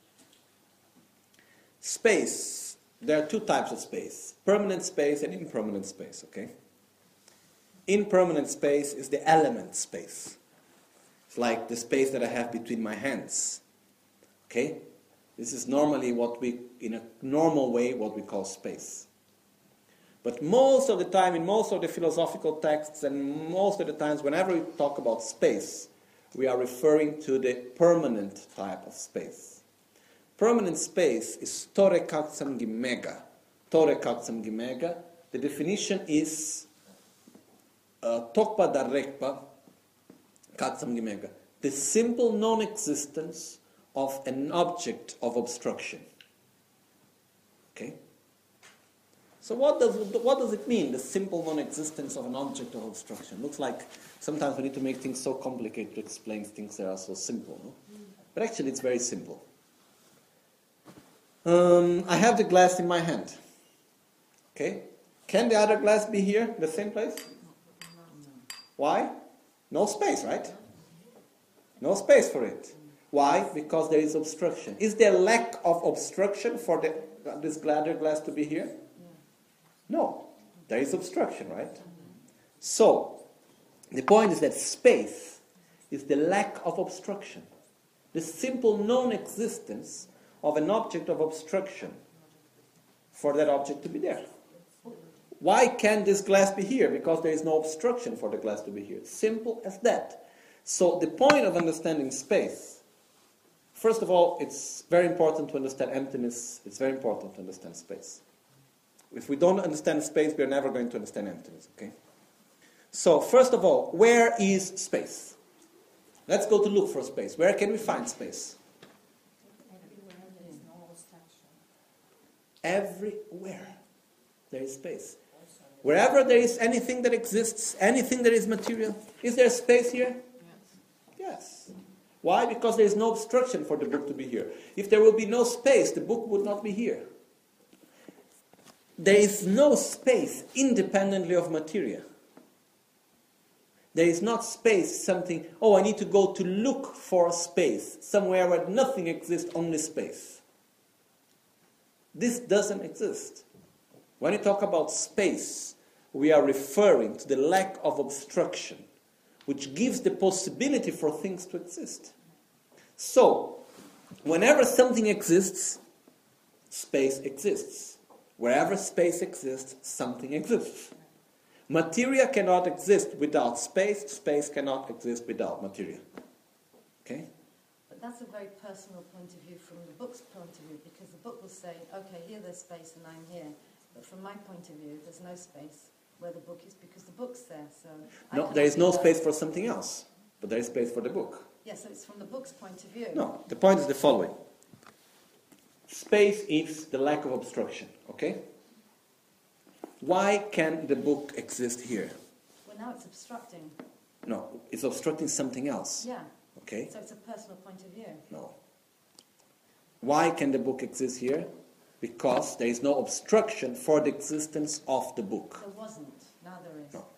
Space, there are 2 types of space. Permanent space and impermanent space, okay? Impermanent space is the element space. It's like the space that I have between my hands. Okay? This is normally what we, in a normal way, what we call space. But most of the time, in most of the philosophical texts, and most of the times, whenever we talk about space, we are referring to the permanent type of space. Permanent space is tore katsam gimega. Tore katsam gimega. The definition is tokpa darekpa katsam gimega. The simple non-existence of an object of obstruction. Okay? So what does it mean, the simple non-existence of an object of obstruction? Looks like sometimes we need to make things so complicated to explain things that are so simple, no? But actually it's very simple. I have the glass in my hand. Okay? Can the other glass be here, in the same place? Why? No space, right? No space for it. Why? Because there is obstruction. Is there lack of obstruction for this other glass to be here? No. There is obstruction, right? So, the point is that space is the lack of obstruction. The simple non-existence of an object of obstruction for that object to be there. Why can't this glass be here? Because there is no obstruction for the glass to be here. Simple as that. So the point of understanding space, first of all, it's very important to understand emptiness. It's very important to understand space. If we don't understand space, we are never going to understand emptiness, okay? So, first of all, where is space? Let's go to look for space. Where can we find space? Everywhere there is space. Wherever there is anything that exists, anything that is material, is there space here? Yes. Why? Because there is no obstruction for the book to be here. If there will be no space, the book would not be here. There is no space independently of materia. There is not space, something, I need to go to look for space, somewhere where nothing exists, only space. This doesn't exist. When we talk about space, we are referring to the lack of obstruction, which gives the possibility for things to exist. So, whenever something exists, space exists. Wherever space exists, something exists. Materia cannot exist without space. Space cannot exist without materia. Okay? But that's a very personal point of view from the book's point of view, because the book will say, okay, here there's space and I'm here. But from my point of view, there's no space where the book is because the book's there. So no, there is no space for something else, but there is space for the book. Yeah, so it's from the book's point of view. No, the point is the following. space is the lack of obstruction, okay? Why can the book exist here? Well, now it's obstructing. No, it's obstructing something else, Yeah. okay? So it's a personal point of view. No. Why can the book exist here? Because there is no obstruction for the existence of the book. There wasn't. Now there is. No.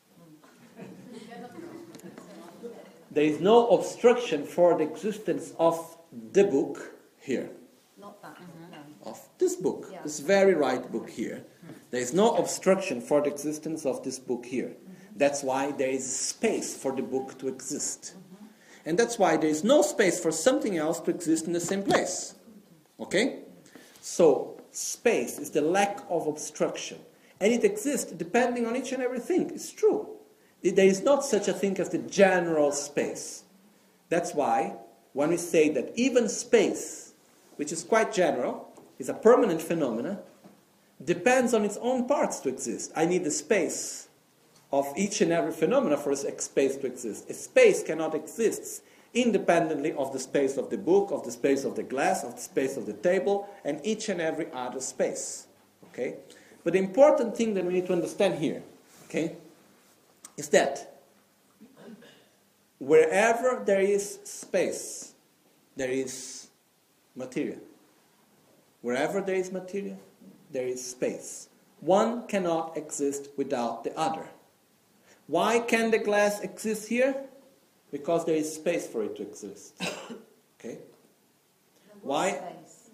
There is no obstruction for the existence of the book here. Not that. No. Of this book, Yeah. this very right book here. There is no obstruction for the existence of this book here. That's why there is space for the book to exist. And that's why there is no space for something else to exist in the same place. Okay? So, space is the lack of obstruction. And it exists depending on each and everything. It's true. There is not such a thing as the general space. That's why when we say that even space, which is quite general, is a permanent phenomena, depends on its own parts to exist. I need the space of each and every phenomena for a space to exist. A space cannot exist independently of the space of the book, of the space of the glass, of the space of the table, and each and every other space. Okay? But the important thing that we need to understand here, okay, is that wherever there is space, there is material. Wherever there is material, there is space. One cannot exist without the other. Why can the glass exist here? Because there is space for it to exist. Okay? There was Why? space.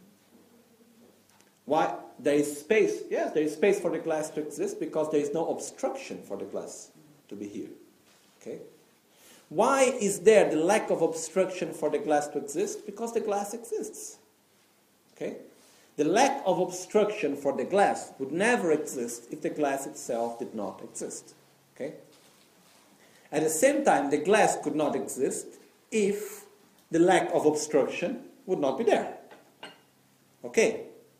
Why? There is space. Yes, there is space for the glass to exist because there is no obstruction for the glass to be here. Okay? Why is there the lack of obstruction for the glass to exist? Because the glass exists. Okay? The lack of obstruction for the glass would never exist if the glass itself did not exist. Okay? At the same time, the glass could not exist if the lack of obstruction would not be there. Okay?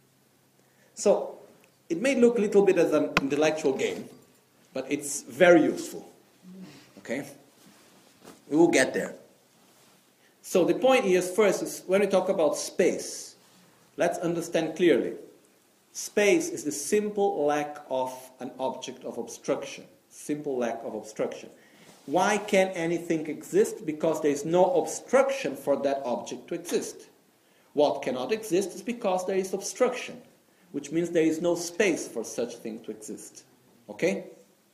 So, it may look a little bit as an intellectual game, but it's very useful. Okay? We will get there. So the point is, first, is when we talk about space, let's understand clearly. Space is the simple lack of an object of obstruction. Simple lack of obstruction. Why can anything exist? Because there is no obstruction for that object to exist. What cannot exist is because there is obstruction, which means there is no space for such thing to exist. Okay?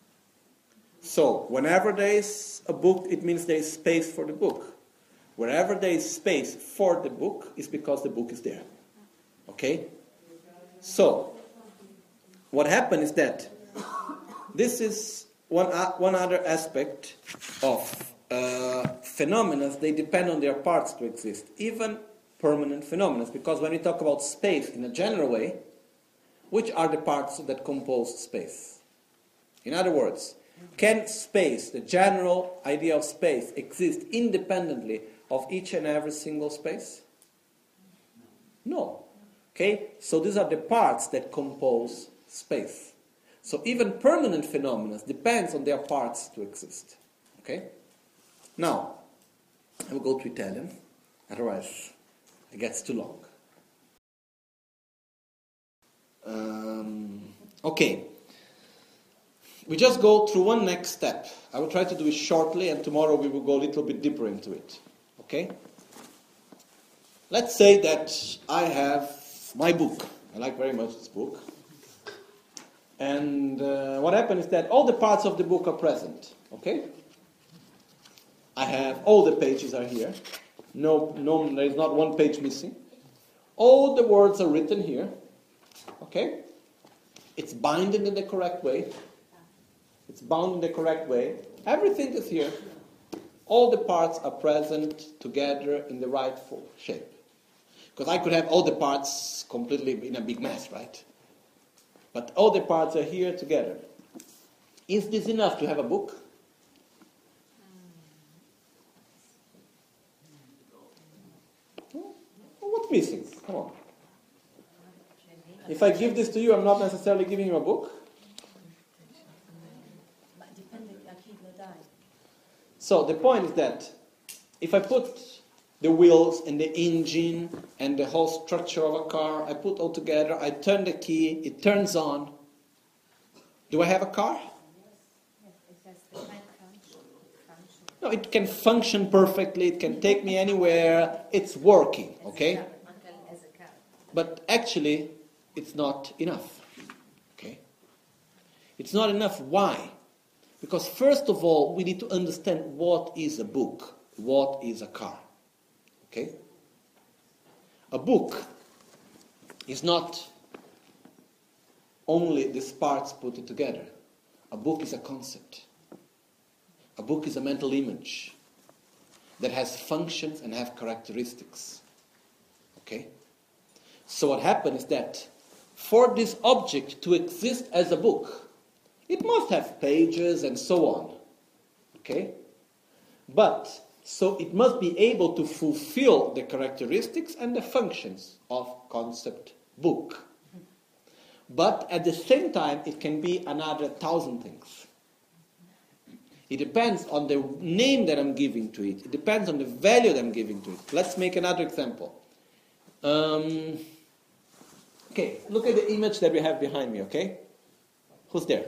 So, whenever there is a book, it means there is space for the book. Wherever there is space for the book, is because the book is there. Okay? So, what happened is that this is one other aspect of phenomena. They depend on their parts to exist. Even permanent phenomena. Because when we talk about space in a general way, which are the parts that compose space? In other words, can space, the general idea of space, exist independently of each and every single space? No. Okay? So these are the parts that compose space. So even permanent phenomena depends on their parts to exist. Okay? Now, I will go to Italian, otherwise it gets too long. Okay. We just go through one next step. I will try to do it shortly, and tomorrow we will go a little bit deeper into it. Okay? Let's say that I have my book. I like very much this book. And what happened is that all the parts of the book are present. Okay? I have all the pages are here. No, there is not one page missing. All the words are written here. Okay? It's binded in the correct way. It's bound in the correct way. Everything is here. All the parts are present together in the rightful shape. Because I could have all the parts completely in a big mess, right? But all the parts are here together. Is this enough to have a book? What's missing? Come on. If I give this to you, I'm not necessarily giving you a book. Dipende a chi lo dai. So the point is that if I put the wheels and the engine and the whole structure of a car. I put all together, I turn the key, it turns on. Do I have a car? No, it can function perfectly, it can take me anywhere, it's working, okay? But actually, it's not enough, okay? It's not enough. Why? Because first of all, we need to understand what is a book, what is a car, okay? A book is not only these parts put together. A book is a concept. A book is a mental image that has functions and have characteristics. Okay? So what happens is that for this object to exist as a book, it must have pages and so on. Okay? But, so it must be able to fulfill the characteristics and the functions of concept book. But at the same time, it can be another 1,000 things. It depends on the name that I'm giving to it. It depends on the value that I'm giving to it. Let's make another example. Okay, look at the image that we have behind me, okay? Who's there?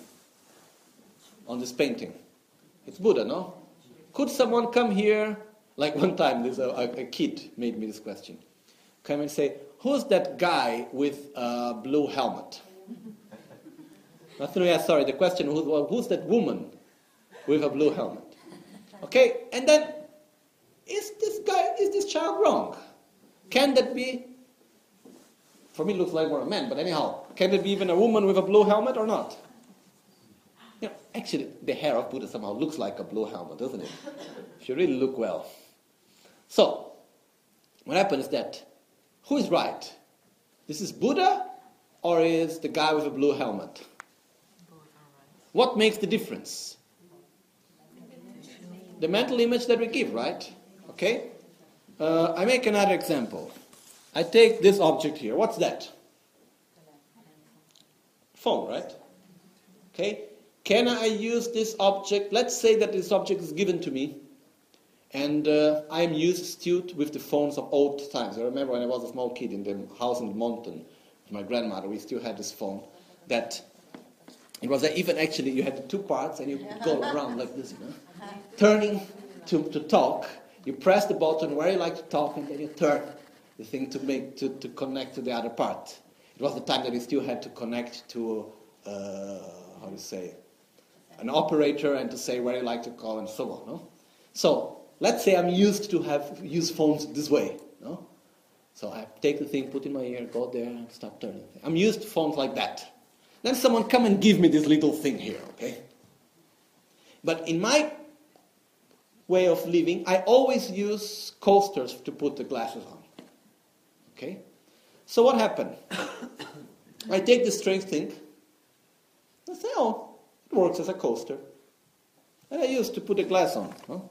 On this painting. It's Buddha, no? Could someone come here, like one time, there's a kid made me this question. Come and say, who's that guy with a blue helmet? Sorry, the question, who's that woman with a blue helmet? Okay, and then, is this child wrong? Can that be, for me it looks like more a man, but anyhow, can it be even a woman with a blue helmet or not? You know, actually, the hair of Buddha somehow looks like a blue helmet, doesn't it? If you really look well. So, what happens is that, who is right? This is Buddha or is the guy with a blue helmet? What makes the difference? The mental image that we give, right? Okay? I make another example. I take this object here. What's that? Phone, right? Okay? Can I use this object? Let's say that this object is given to me. And I am used to with the phones of old times. I remember when I was a small kid in the house in the mountain with my grandmother, we still had this phone. That it was even actually, you had the two parts and you could go around like this, you know? Turning to talk, you press the button where you like to talk and then you turn the thing to connect to the other part. It was the time that you still had to connect to, an operator and to say where you like to call and so on, no? So, let's say I'm used to use phones this way, no? So I take the thing, put in my ear, go there, and start turning. I'm used to phones like that. Then someone come and give me this little thing here, okay? But in my way of living, I always use coasters to put the glasses on, okay? So what happened? I take this strange thing, and say, oh, it works as a coaster. And I used to put a glass on, no?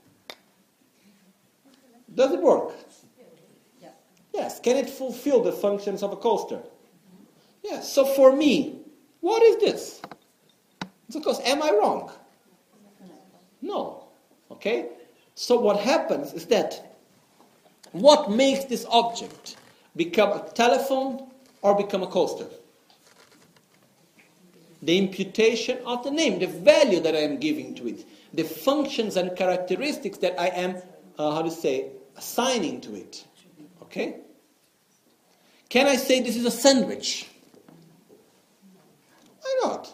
Does it work? Yeah. Yes. Can it fulfill the functions of a coaster? Yes. So for me, what is this? It's a coaster. Am I wrong? No. Okay? So what happens is that what makes this object become a telephone or become a coaster? The imputation of the name, the value that I am giving to it, the functions and characteristics that I am, assigning to it. Okay? Can I say this is a sandwich? Why not?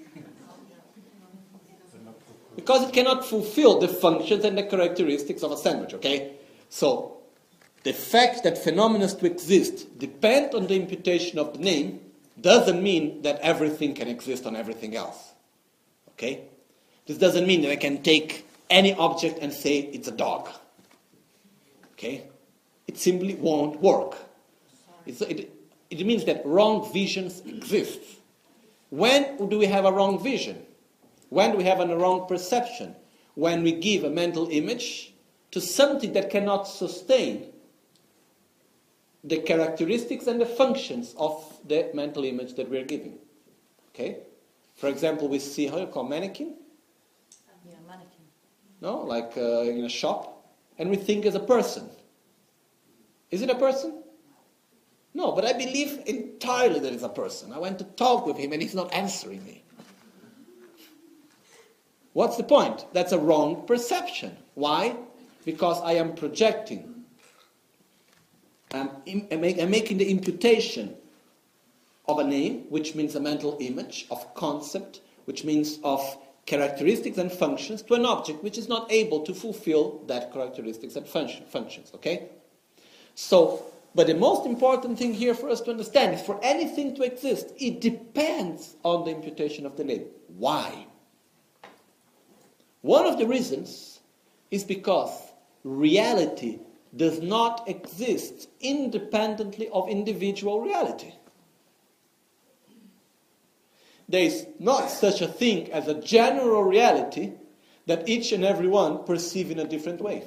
Because it cannot fulfill the functions and the characteristics of a sandwich, okay? So, the fact that phenomena to exist depend on the imputation of the name doesn't mean that everything can exist on everything else. Okay? This doesn't mean that I can take any object and say it's a dog. Okay? It simply won't work. It means that wrong visions exist. When do we have a wrong vision? When do we have a wrong perception? When we give a mental image to something that cannot sustain the characteristics and the functions of the mental image that we're giving. Okay? For example, we see, how you call mannequin? Yeah, mannequin. No? Like in a shop. and we think as a person. Is it a person? No, but I believe entirely that it's a person. I went to talk with him and he's not answering me. What's the point? That's a wrong perception. Why? Because I am projecting. I'm making the imputation of a name, which means a mental image, of concept, which means of characteristics and functions, to an object which is not able to fulfill that characteristics and functions. Okay? So, but the most important thing here for us to understand is for anything to exist, it depends on the imputation of the name. Why? One of the reasons is because reality does not exist independently of individual reality. There is not such a thing as a general reality that each and every one perceive in a different way.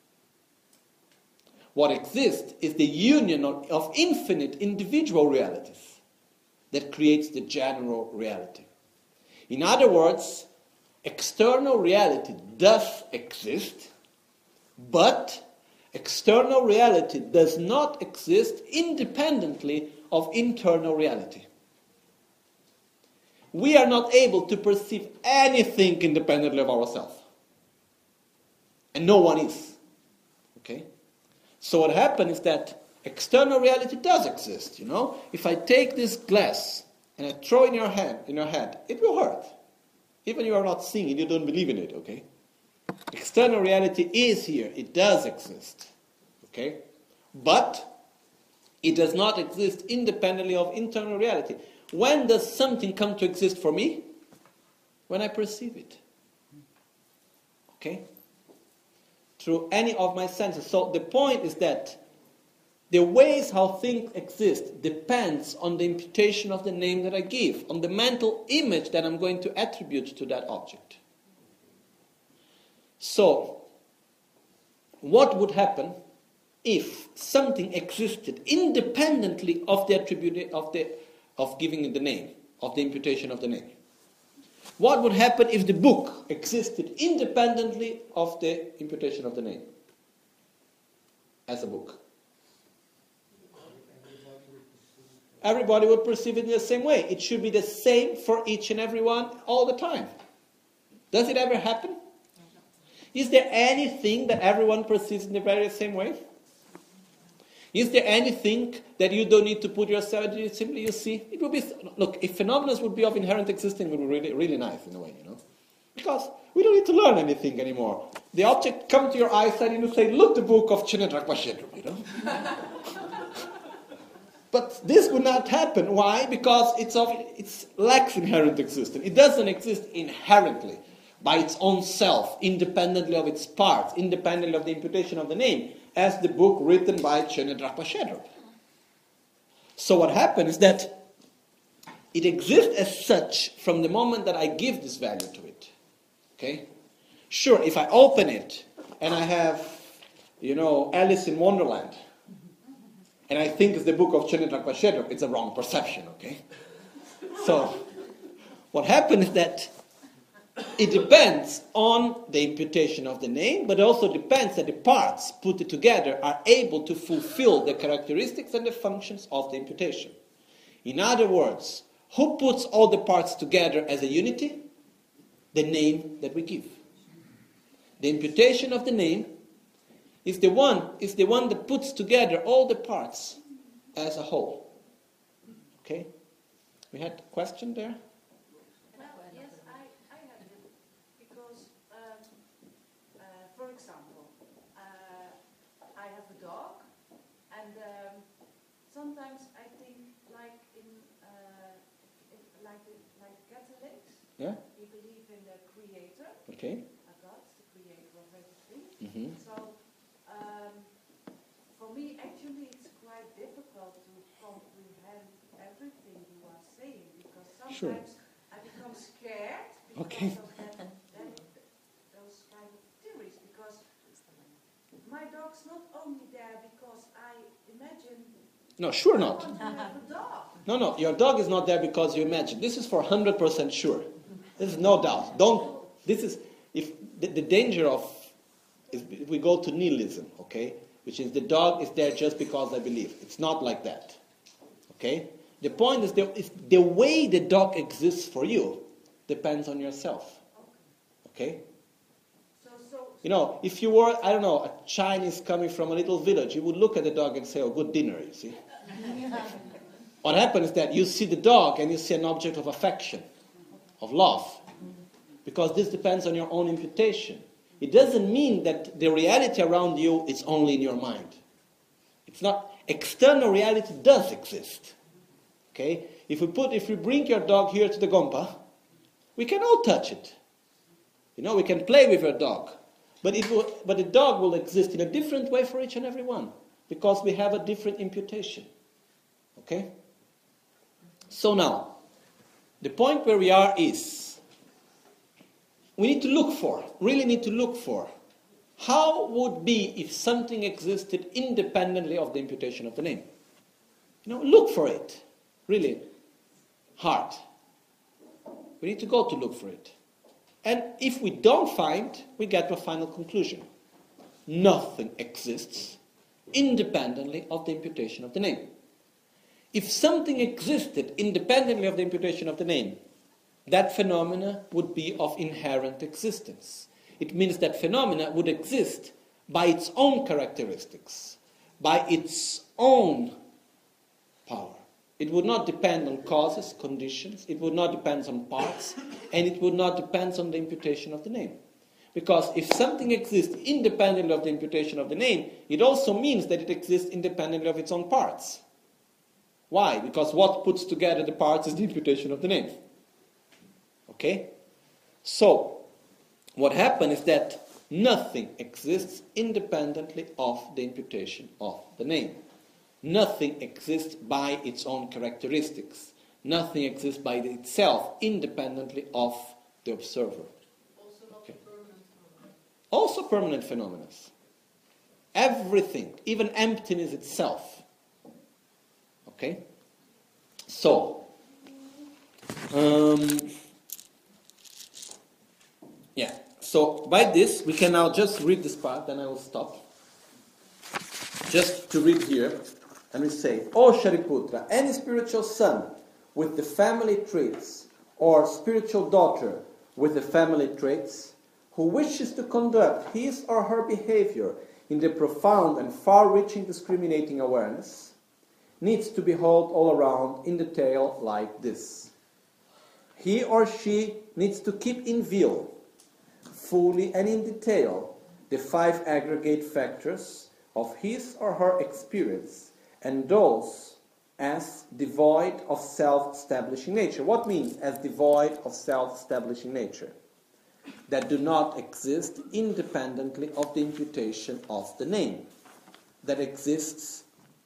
What exists is the union of infinite individual realities that creates the general reality. In other words, external reality does exist, but external reality does not exist independently of internal reality. We are not able to perceive anything independently of ourselves. And no one is. Okay? So what happens is that external reality does exist, you know? If I take this glass and I throw it in your head, it will hurt. Even if you are not seeing it, you don't believe in it, okay? External reality is here. It does exist. Okay? But it does not exist independently of internal reality. When does something come to exist for me? When I perceive it. Okay? Through any of my senses. So the point is that the ways how things exist depends on the imputation of the name that I give, on the mental image that I'm going to attribute to that object. So, what would happen if something existed independently of the attribute of giving it the name, of the imputation of the name? What would happen if the book existed independently of the imputation of the name as a book? Everybody would perceive it in the same way. It should be the same for each and every one all the time. Does it ever happen? Is there anything that everyone perceives in the very same way? Is there anything that you don't need to put yourself in? Simply you see, it would be, look, if phenomena would be of inherent existence, it would be really, really nice in a way, you know. Because we don't need to learn anything anymore. The object comes to your eyesight and you say, look, the book of Chinedrak Bashedru, you know. But this would not happen. Why? Because it lacks inherent existence. It doesn't exist inherently by its own self, independently of its parts, independently of the imputation of the name, as the book written by Chinedrak Bashedru. So what happens is that it exists as such from the moment that I give this value to it. Okay? Sure, if I open it and I have, Alice in Wonderland, and I think it's the book of Chinedrak Bashedru, it's a wrong perception, okay? So, what happens is that it depends on the imputation of the name, but also depends that the parts put together are able to fulfill the characteristics and the functions of the imputation. In other words, who puts all the parts together as a unity? The name that we give. The imputation of the name is the one that puts together all the parts as a whole. Okay? We had a question there? Yes, I have it. Because, for example, I have a dog, and sometimes I think like Catholics, Yeah? we believe in the Creator, Okay. a God, the Creator of everything. Mm-hmm. So, for me, actually, it's quite difficult to comprehend everything you are saying, because sometimes I become scared because of those kind of theories, because my dog's not only there because I imagine No, sure I not. want to have a dog. No, your dog is not there because you imagine. This is for 100% sure. There's no doubt. If the danger we go to nihilism, okay? Which is the dog is there just because I believe. It's not like that, okay? The point is the way the dog exists for you depends on yourself, okay? You know, if you were, I don't know, a Chinese coming from a little village, you would look at the dog and say, oh, good dinner, you see. What happens is that you see the dog and you see an object of affection, of love, because this depends on your own imputation. It doesn't mean that the reality around you is only in your mind. It's not. External reality does exist. Okay? If we bring your dog here to the Gompa, we can all touch it. You know, we can play with your dog. But the dog will exist in a different way for each and every one, because we have a different imputation. Okay? So now, the point where we are is, we need to look for, really need to look for, how would be if something existed independently of the imputation of the name? You know, look for it. Really hard. We need to go to look for it. And if we don't find, we get to a final conclusion. Nothing exists independently of the imputation of the name. If something existed independently of the imputation of the name, that phenomena would be of inherent existence. It means that phenomena would exist by its own characteristics, by its own power. It would not depend on causes, conditions, it would not depend on parts, and it would not depend on the imputation of the name. Because if something exists independently of the imputation of the name, it also means that it exists independently of its own parts. Why? Because what puts together the parts is the imputation of the name. Okay? So, what happened is that nothing exists independently of the imputation of the name. Nothing exists by its own characteristics. Nothing exists by itself independently of the observer. Also not Okay. permanent phenomena. Also permanent phenomena. Everything, even emptiness itself. Okay? So, so by this, we can now just read this part, then I will stop. Just to read here, and we say, O Shariputra, any spiritual son with the family traits, or spiritual daughter with the family traits, who wishes to conduct his or her behavior in the profound and far-reaching discriminating awareness, needs to behold all around in detail like this. He or she needs to keep in view, fully and in detail, the 5 aggregate factors of his or her experience, and those as devoid of self-establishing nature. What means as devoid of self-establishing nature? That do not exist independently of the imputation of the name. That exists,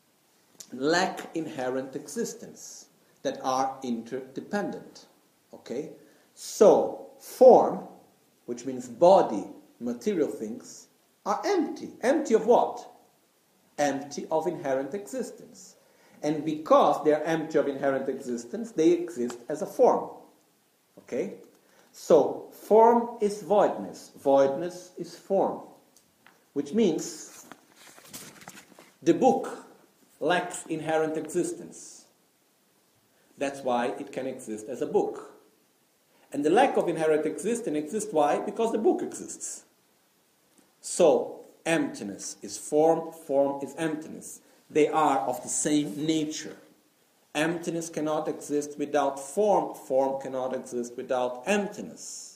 lack inherent existence. That are interdependent. Okay? So, form, which means body, material things, are empty. Empty of what? Empty of inherent existence. And because they are empty of inherent existence, they exist as a form. Okay? So, form is voidness. Voidness is form. Which means the book lacks inherent existence. That's why it can exist as a book. And the lack of inherent existence exists why? Because the book exists. So, emptiness is form, form is emptiness. They are of the same nature. Emptiness cannot exist without form, form cannot exist without emptiness.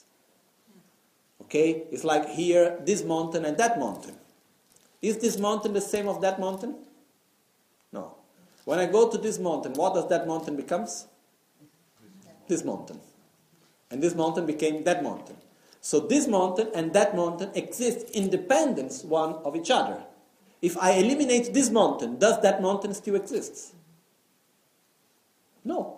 Okay? It's like here, this mountain and that mountain. Is this mountain the same of that mountain? No. When I go to this mountain, what does that mountain becomes? This mountain. And this mountain became that mountain. So this mountain and that mountain exist independent one of each other. If I eliminate this mountain, does that mountain still exist? No.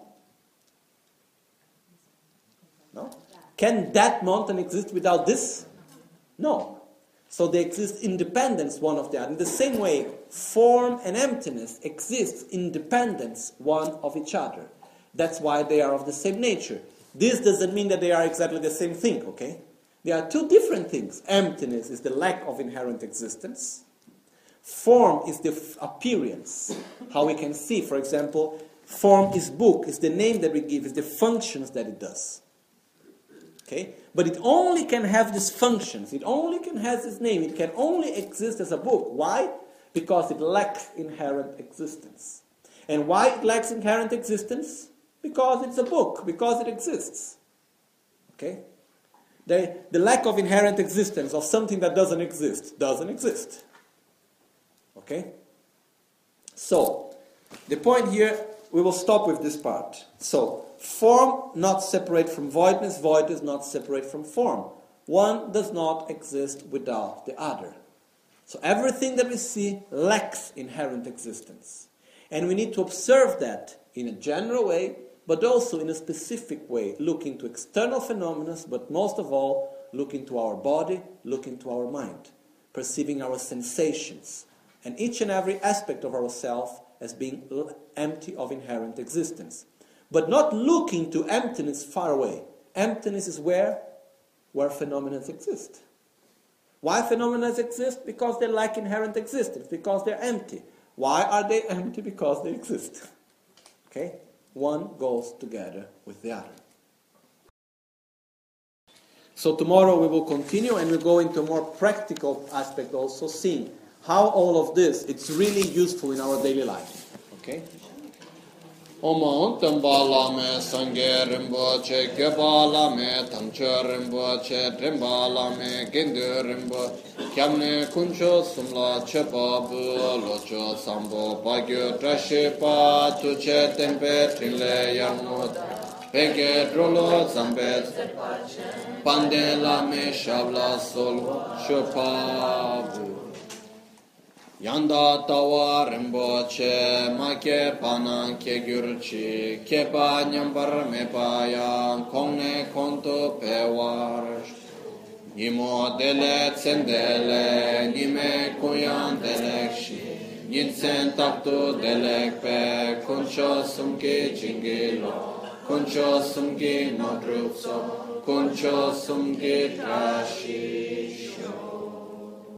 No? Can that mountain exist without this? No. So they exist independent one of the other. In the same way, form and emptiness exist independent one of each other. That's why they are of the same nature. This doesn't mean that they are exactly the same thing, okay? There are two different things. Emptiness is the lack of inherent existence. Form is the appearance, how we can see. For example, form is book, is the name that we give, is the functions that it does. Okay? But it only can have these functions, it only can have this name, it can only exist as a book. Why? Because it lacks inherent existence. And why it lacks inherent existence? Because it's a book, because it exists. Okay? The lack of inherent existence of something that doesn't exist. Okay? So, the point here, we will stop with this part. So, form not separate from voidness, voidness not separate from form. One does not exist without the other. So everything that we see lacks inherent existence. And we need to observe that in a general way, but also in a specific way, looking to external phenomena, but most of all, looking to our body, looking to our mind, perceiving our sensations, and each and every aspect of ourselves as being empty of inherent existence. But not looking to emptiness far away. Emptiness is where phenomena exist. Why phenomena exist? Because they lack inherent existence, because they're empty. Why are they empty? Because they exist. Okay? One goes together with the other. So tomorrow we will continue and we'll go into a more practical aspect also, seeing how all of this, it's really useful in our daily life. Okay? Oman Tambala me Sange Rimboche, Gebala me Tamche Rimboche, Drimbala me Gindu Rimbo, Kyamne Kuncho Sumla Chepabu, Locho Sambo, Bagyo Trashipa, Tuche Tempe, Trile Yarmut, Pege Drolo Zambet, Pandela me Shabla Sol, Chepabu. Yanda tawa rimboche ma ke panan ke gyurchi ke pa nyambar me paya kongne konto pewar nimo dele tsendele nime kuyan delekshi yinsen tapto delek pe kuncho sumke chingilo kuncho sumke madrupso kuncho sumke trashisho